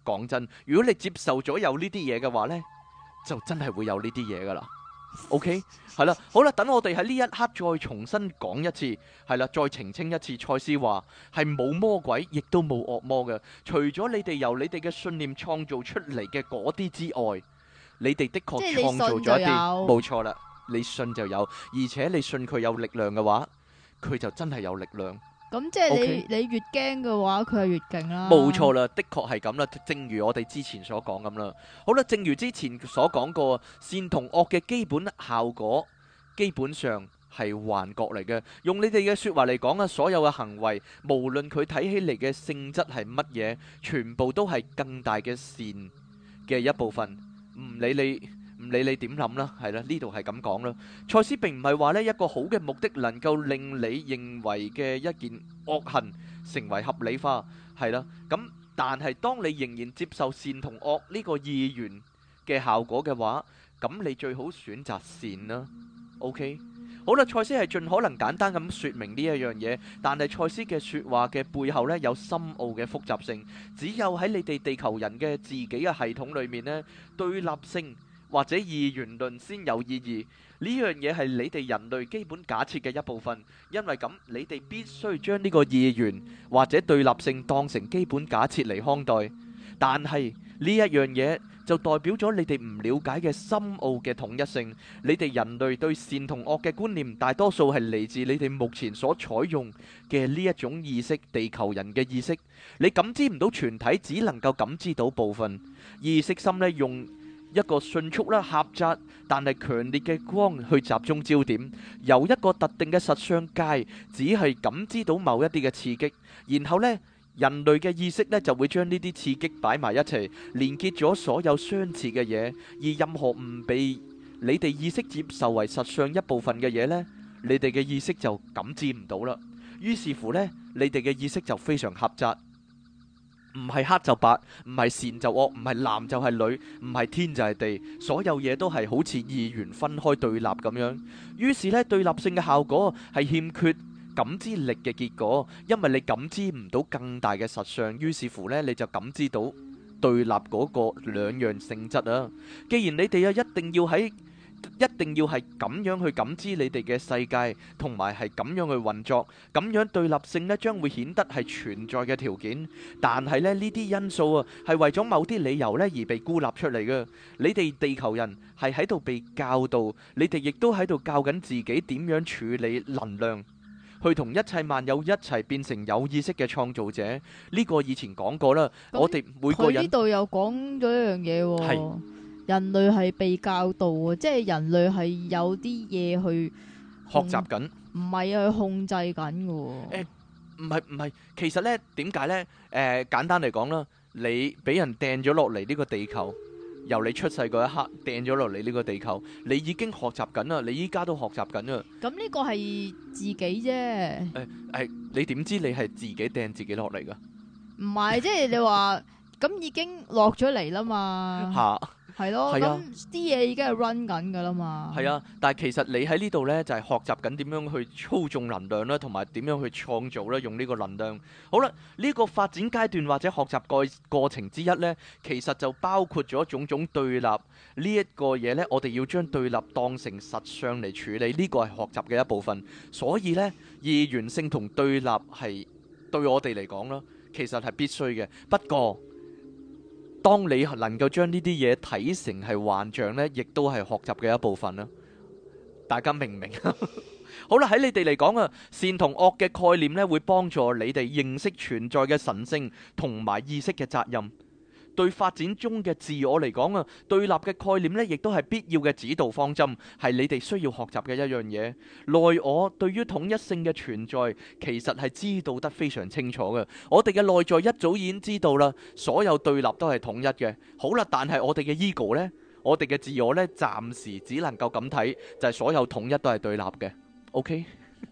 講真，如果你接受咗有呢啲嘢嘅話呢，就真係會有呢啲嘢噶啦。OK， 係啦，好啦，等我哋喺呢一刻再重新講一次，係啦，再澄清一次。賽斯話係冇魔鬼，亦都冇惡魔嘅，除咗你哋由你哋嘅信念創造出嚟嘅嗰啲之外，你哋的確創造咗一啲，冇錯啦，你信就有，而且你信佢有力量嘅話，佢就真係有力量。 咁即係你越驚嘅話，佢係越勁啦。 冇錯啦，的確係咁啦，正如我哋之前所講咁啦。好啦，正如之前所講過，善同惡嘅基本效果基本上係幻覺嚟嘅。用你哋嘅說話嚟講啊，所有嘅行為，無論佢睇起嚟嘅性質係乜嘢，全部都係更大嘅善嘅一部分。唔理你點諗啦，係啦，呢度係咁講啦。賽斯並唔係話呢一個好嘅目的能夠令你認為嘅一件惡行成為合理化，係啦。咁但係當你仍然接受善同惡呢個意願嘅效果嘅話，咁你最好選擇善啦。OK， 好啦，賽斯係盡可能簡單咁說明呢一樣嘢，但係賽斯嘅說話嘅背後呢，有深奧嘅複雜性。只有喺你哋地球人嘅自己嘅系統裏面呢，對立性或者二元論先有意義。呢樣嘢係你哋人類基本假設嘅一部分，因為咁你哋必須將呢個二元或者對立性當成基本假設嚟看待。但係呢一樣嘢就代表咗你哋唔了解嘅深奧嘅統一性。你哋人類對善同惡嘅觀念，大多數係嚟自你哋目前所採用嘅呢一種意識，地球人嘅意識。你感知唔到全體，只能夠感知到部分。意識心呢，用一個迅速啦、狹窄但係強烈嘅光去集中焦點，由一個特定嘅實相界，只係感知到某一啲嘅刺激，然後呢，人類嘅意識呢就會將呢啲刺激擺埋一齊，連結咗所有相似嘅嘢，而任何唔被你哋意識接受為實相一部分嘅嘢呢，你哋嘅意識就感知唔到啦。於是乎呢，你哋嘅意識就非常狹窄。唔係黑就白，唔係善就惡，唔係男就係女，唔係天就係地，所有嘢都係好似二元分開對立咁樣。於是呢，對立性嘅效果係欠缺感知力嘅結果，因為你感知唔到更大嘅實相，於是乎呢，你就感知到對立嗰個兩樣性質啊。既然你哋啊一定要係咁樣去感知你哋嘅世界，同埋係咁樣去運作，咁樣對立性呢將會顯得係存在嘅條件。但係呢，呢啲因素啊，係為咗某啲理由呢而被孤立出嚟嘅。你哋地球人係喺度被教導，你哋亦都喺度教緊自己點樣處理能量，去同一切萬有一齊變成有意識嘅創造者。呢個以前講過啦，我哋每個人佢呢度又講咗一樣嘢喎。係。人類係被教導啊，即係人類係有啲嘢去學習緊， 唔係去控制緊嘅。 唔係，其實呢點解呢？簡單嚟講啦，你俾人掟咗落嚟呢個地球，由你出世嗰一刻掟咗落嚟呢個地球，你已經學習緊啦，你依家都學習緊啊。咁呢個係自己啫。 你點知你係自己掟自己落嚟噶？ 唔係，即係你話咁已經落咗嚟啦嘛。吓。係咯，咁啲嘢已經係 run 緊噶啦嘛。係啊， 但係其實你喺呢度呢，就係學習緊點樣去操縱能量啦，同埋點樣去創造啦，用呢個能量。好啦，呢個發展階段或者學習過程之一呢，其實就包括咗種種對立呢一個嘢呢，我哋要將對立當成實相嚟處理，呢個係學習嘅一部分。所以呢，二元性同對立係對我哋嚟講啦，其實係必須嘅。不過，當你能夠將呢啲嘢睇成係幻象呢，亦都係學習嘅一部分啦。大家明唔明？好啦，喺你哋嚟講啊，善同惡嘅概念呢，會幫助你哋認識存在嘅神聖同埋意識嘅責任。對發展中嘅自我嚟講啊，對立嘅概念呢，亦都係必要嘅指導方針，係你哋需要學習嘅一樣嘢。內我對於統一性嘅存在，其實係知道得非常清楚嘅。我哋嘅內在一早已經知道啦，所有對立都係統一嘅。好啦，但係我哋嘅 ego 呢，我哋嘅自我呢，暫時只能夠咁睇，就係所有統一都係對立嘅。OK？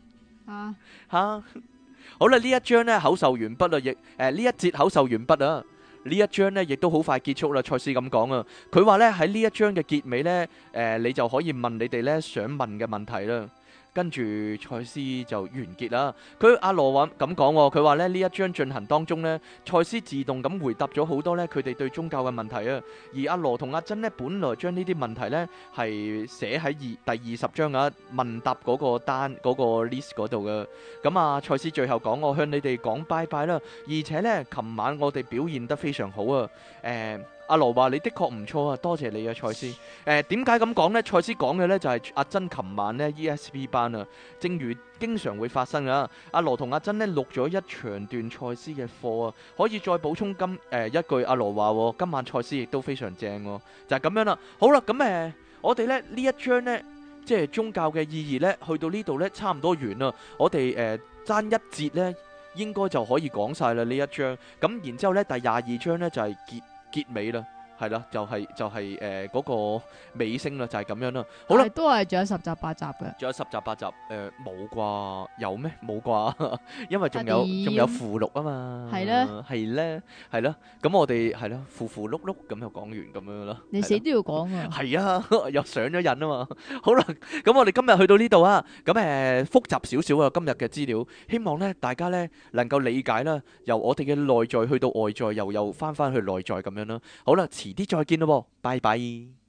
好啦，呢一章呢，口授完畢啦，亦呢一節口授完畢啊。呢一章呢亦都好快結束啦。賽斯咁講啊，佢話呢喺呢一章嘅結尾呢，你就可以問你哋呢想問嘅問題啦。 跟住賽斯就完結啦。阿羅話咁講喎，佢話咧呢一章進行當中呢，賽斯自動咁回答咗好多呢佢哋對宗教嘅問題啊。而阿羅同阿珍呢，本來將呢啲問題呢係寫喺第20章啊問答嗰個單嗰個 list 嗰度嘅。咁啊，賽斯最後講：我向你哋講拜拜啦。而且呢，琴晚我哋表現得非常好啊。阿羅話：你的確唔錯啊，多謝你啊，賽斯。點解咁講呢？賽斯講嘅呢就係阿珍琴晚呢 ESP 班啊，正如經常會發生啊。阿羅同阿珍呢錄咗一長段賽斯嘅課啊，可以再補充一句。阿羅話：今晚賽斯亦都非常正喎，就係咁樣啦。好啦，咁我哋呢一章呢，即係宗教嘅意義呢，去到呢度呢，差唔多完啦。我哋爭一節呢，應該就可以講晒啦呢一章。咁然之後呢，第22章呢，就係結尾啦，係啦，就係嗰個尾聲啦，就係咁樣啦。好啦， 都係仲有10集8集嘅， 仲有10集8集，冇啩？有咩？冇啩？因為仲有附錄啊嘛。係咧，係咯。咁我哋係咯，附碌碌咁就講完咁樣啦。 你死都要講啊！ 係啊，又上咗癮啊嘛。好啦，咁我哋今日去到呢度啊。咁複雜少少啊，今日嘅資料，希望咧大家咧能夠理解啦。由我哋嘅內在去到外在，又翻去內在咁樣啦。好啦，遲啲再見咯，拜拜。